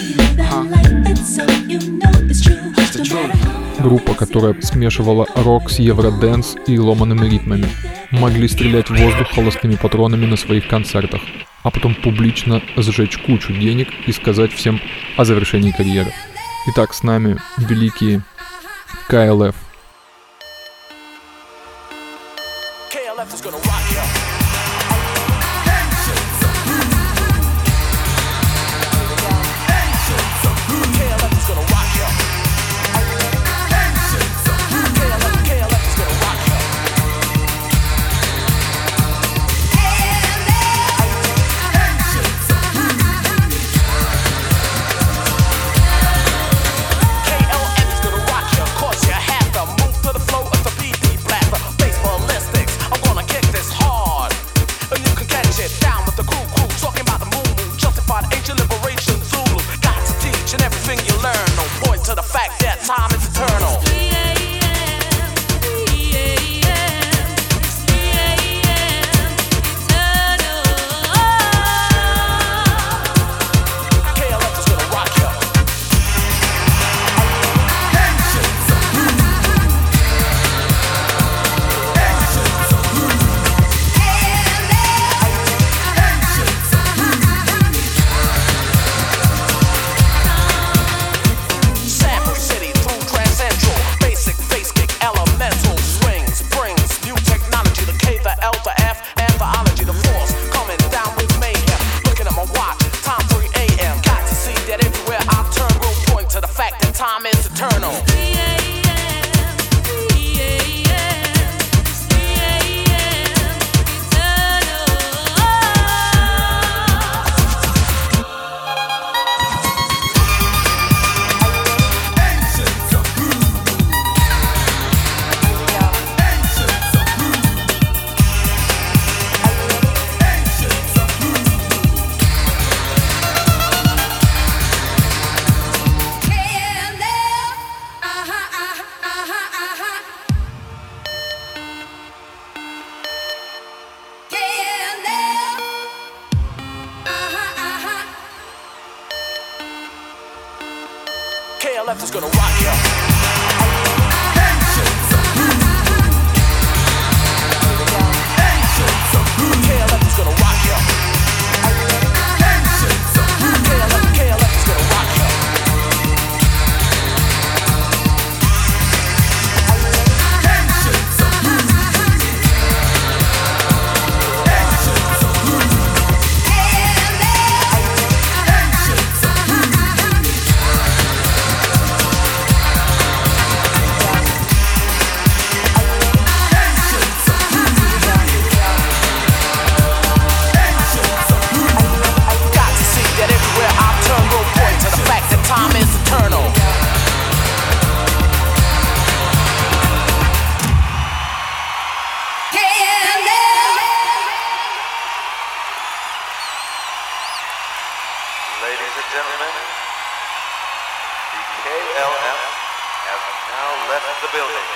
Группа, которая смешивала рок с евродэнс и ломаными ритмами. Могли стрелять в воздух холостыми патронами на своих концертах, а потом публично сжечь кучу денег и сказать всем о завершении карьеры. Итак, с нами великие KLF. KLF is gonna rock you. KLF is gonna rock you. KLF is gonna rock you. KLF is gonna rock you. KLF is gonna rock you. Time is eternal. Ladies and gentlemen, the KLF have now left the building.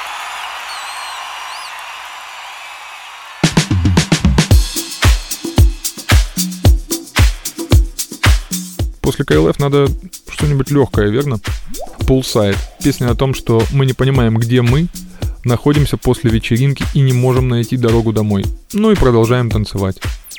После KLF надо что-нибудь легкое, верно? Poolside. Песня о том, что мы не понимаем, где мы, находимся после вечеринки и не можем найти дорогу домой. Ну и продолжаем танцевать.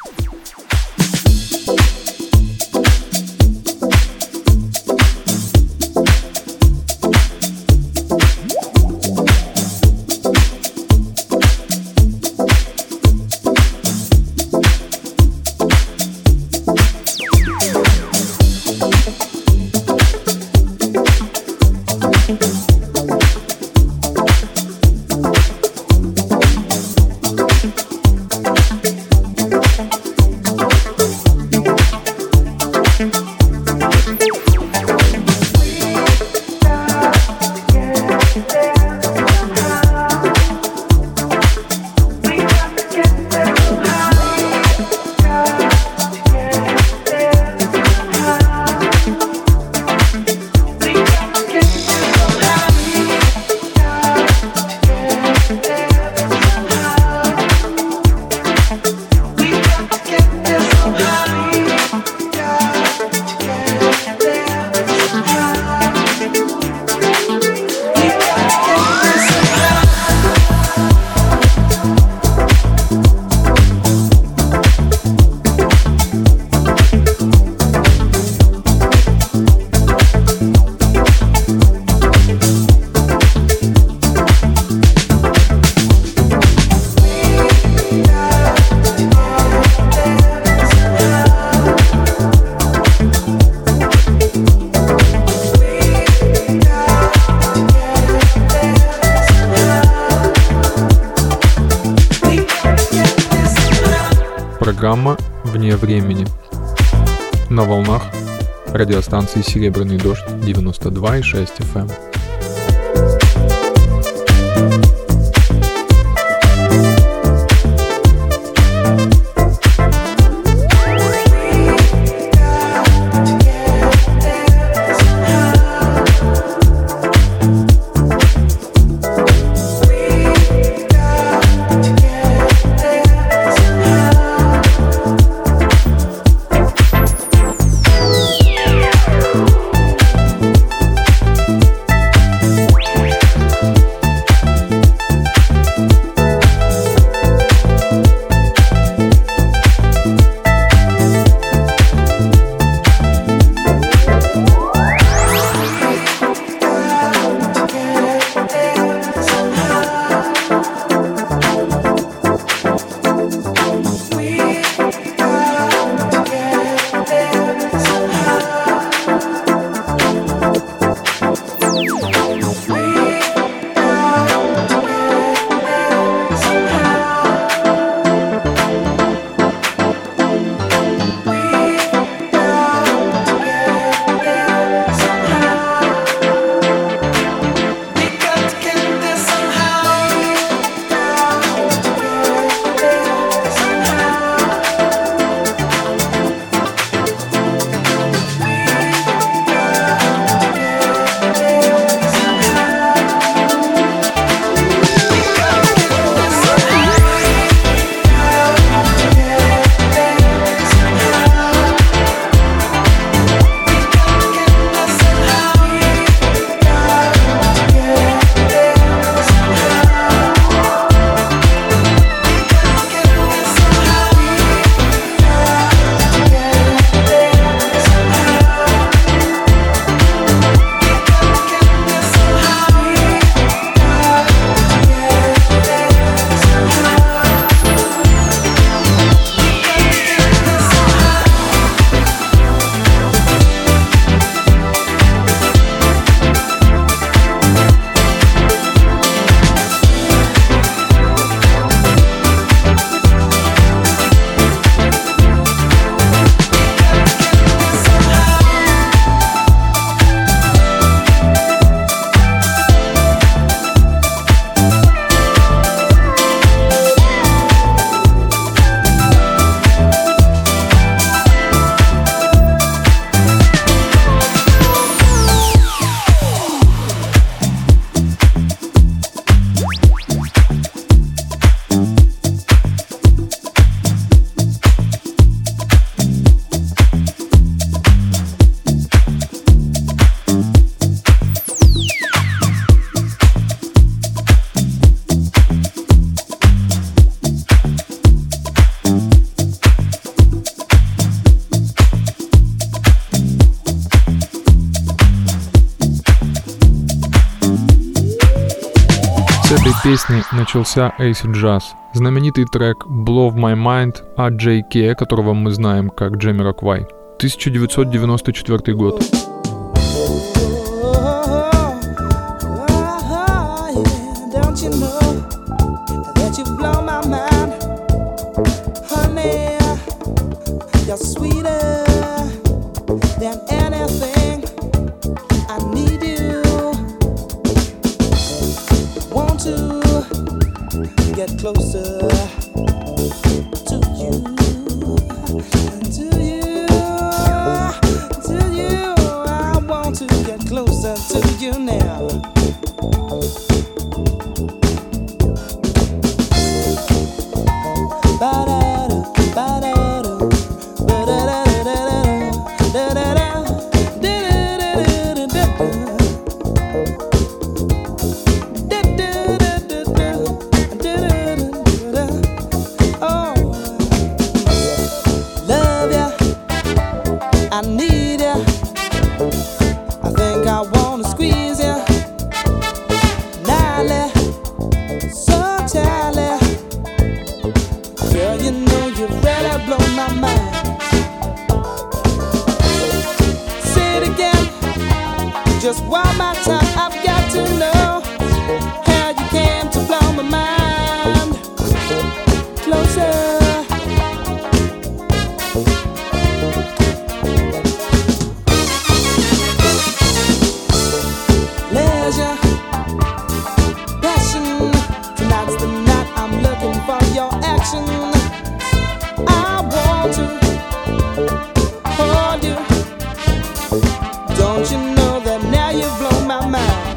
Программа «Вне времени» на волнах радиостанции «Серебряный дождь» 92,6 FM. этой песни начался acid jazz. Знаменитый трек Blow My Mind от J.K., которого мы знаем как Jamiroquai. 1994 год. You're sweeter than anything. I need you. Want to get closer to you, to you, to you. I want to get closer to you now. Ba-da-da, ba-da-da. Just one more time, I've got to know how you came to blow my mind closer. Leisure, passion, tonight's the night I'm looking for your action. I want to hold you. Don't you know that now you blow my mind?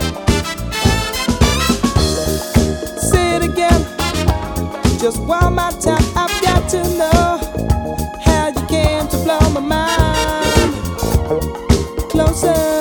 Say it again, just one more time. I've got to know how you came to blow my mind closer.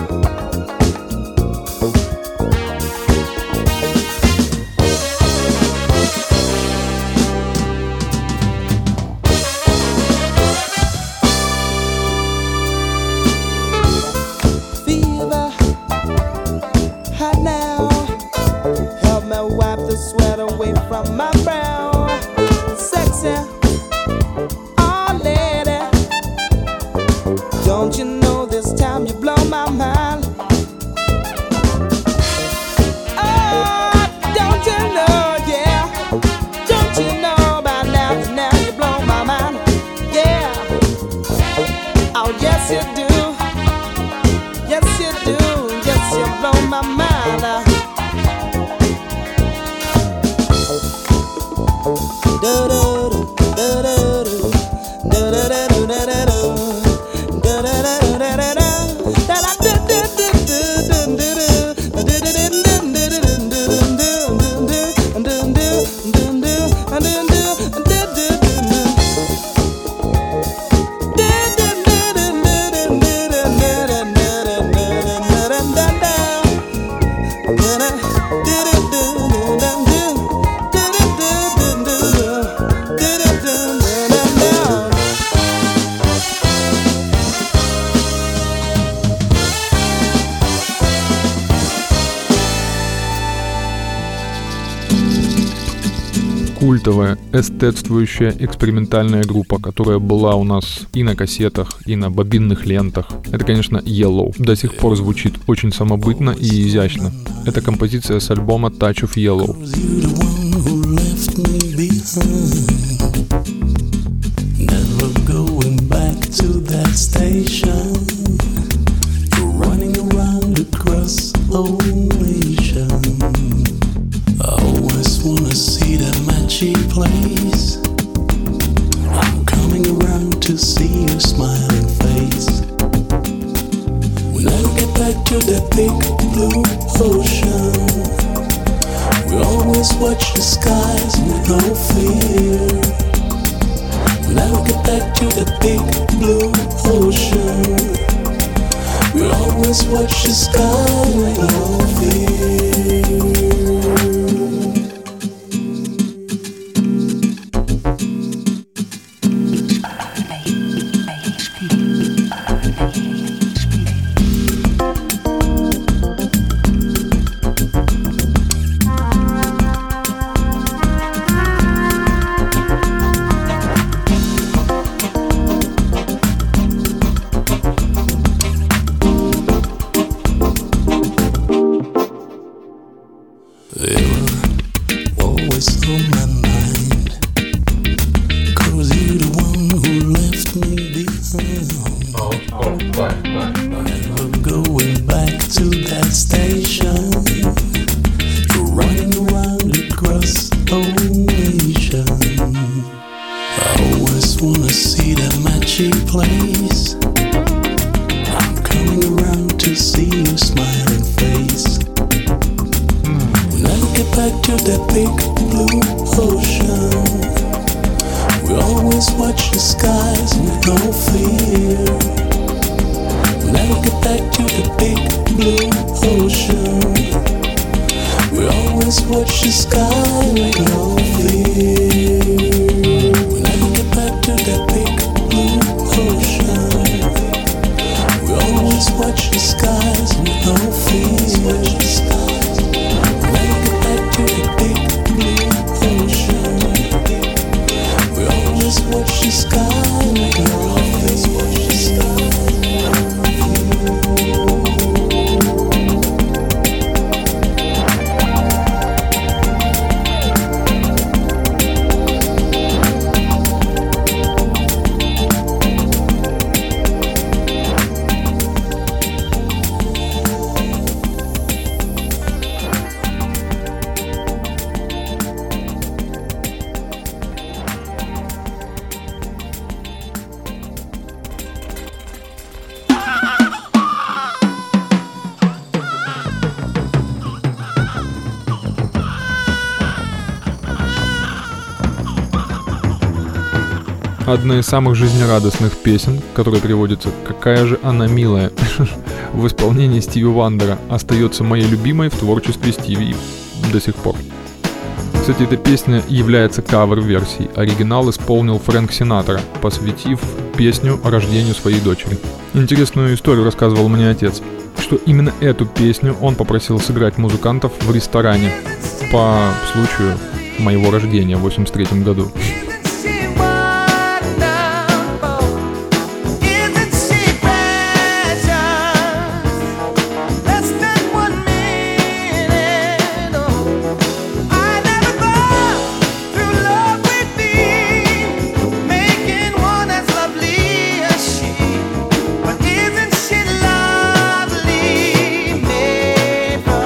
Sweat away from my brow. Sexy, oh lady, don't you know this time you blow my mind? Oh, don't you know, yeah, don't you know by now that now you blow my mind? Yeah, oh yes you do, yes you do, yes you blow my mind. Культовая, эстетствующая экспериментальная группа, которая была у нас и на кассетах, и на бобинных лентах. Это, конечно, Yellow. До сих пор звучит очень самобытно и изящно. Это композиция с альбома Touch of Yellow. Place. I'm coming around to see your smiling face. We'll never get back to that big blue ocean. We always watch the skies with no fear. We'll never get back to that big blue ocean. We always watch the sky with no fear. face. I'm coming around to see your smiling face. When I get back to that big blue ocean, we always watch the skies with no fear. When I get back to the big blue ocean, we always watch the sky with no fear. When I get back to that big blue ocean, we always watch the skies with no fear. When I get back to the big blue ocean, we always watch the sky with no fear. Одна из самых жизнерадостных песен, которая переводится «Какая же она милая» в исполнении Стиви Вандера, остается моей любимой в творчестве Стиви до сих пор. Кстати, эта песня является кавер-версией. Оригинал исполнил Фрэнк Синатра, посвятив песню рождению своей дочери. Интересную историю рассказывал мне отец, что именно эту песню он попросил сыграть музыкантов в ресторане по случаю моего рождения в 1983 году.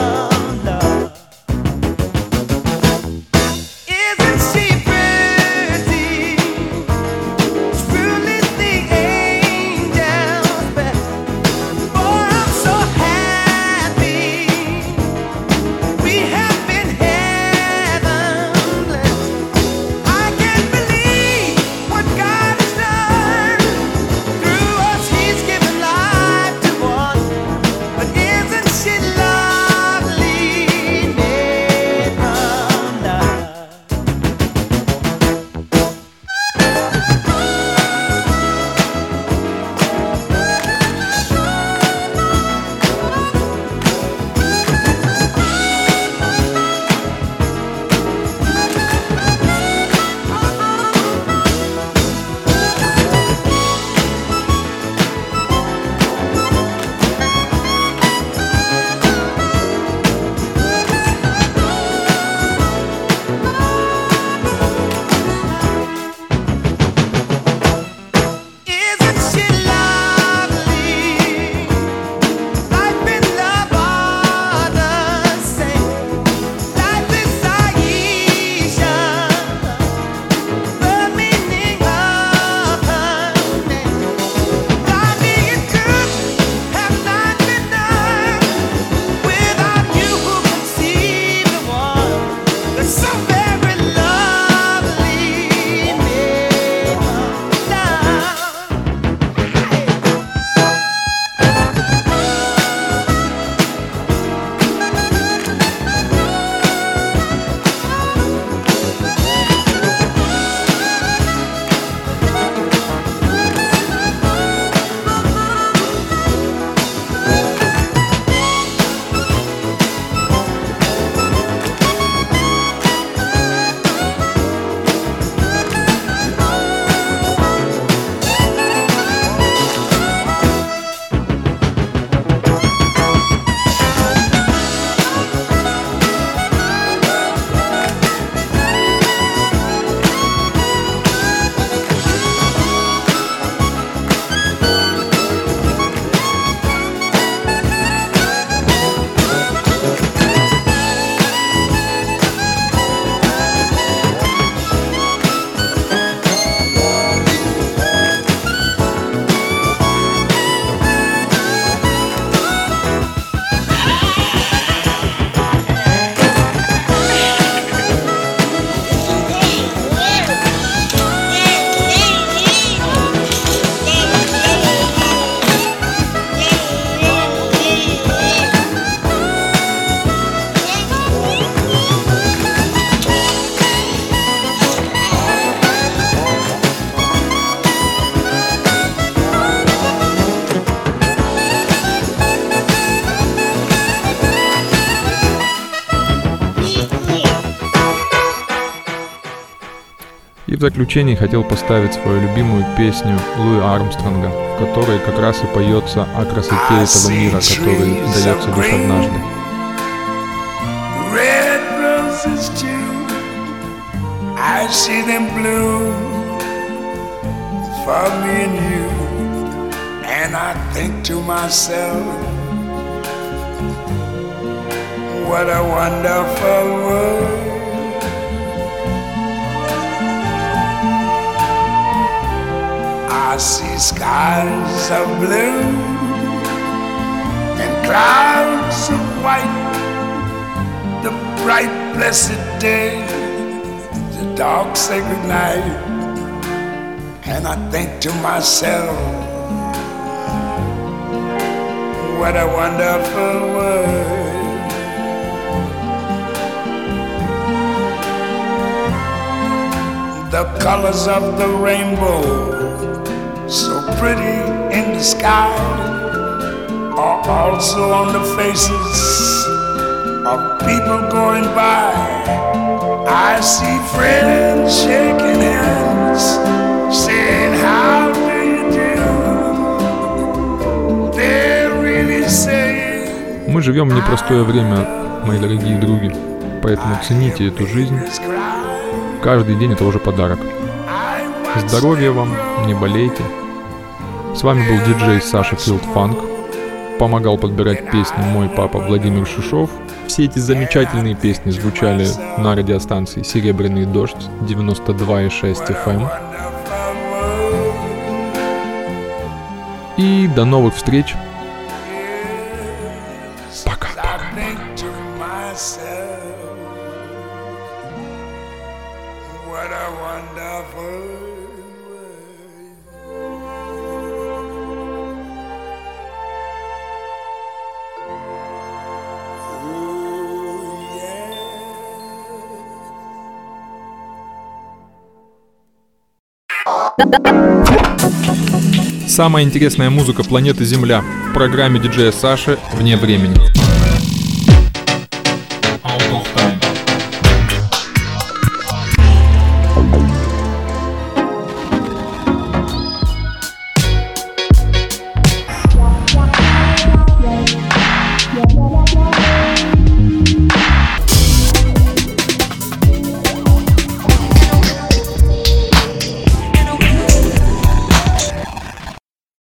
Isn't she pretty? в заключение хотел поставить свою любимую песню Луи Армстронга, в которой как раз и поется о красоте этого мира, который дается лишь однажды. Red roses too, I see them bloom for me and you, and I think to myself, what a wonderful world. I see skies of blue and clouds of white, the bright blessed day, the dark sacred night, and I think to myself, what a wonderful world. The colors of the rainbow, so pretty in the sky, are also on the faces of people going by. I see friends shaking hands, saying, how do you do? They're really saying, Мы живем в непростое время, мои дорогие други, поэтому цените эту жизнь. Каждый день это уже подарок. Здоровья вам, не болейте. С вами был диджей Саша Field Funk. Помогал подбирать песни мой папа Владимир Шишов. Все эти замечательные песни звучали на радиостанции «Серебряный дождь» 92,6 FM. И до новых встреч. Пока. what a wonderful Самая интересная музыка планеты Земля в программе диджея Саши «Вне времени».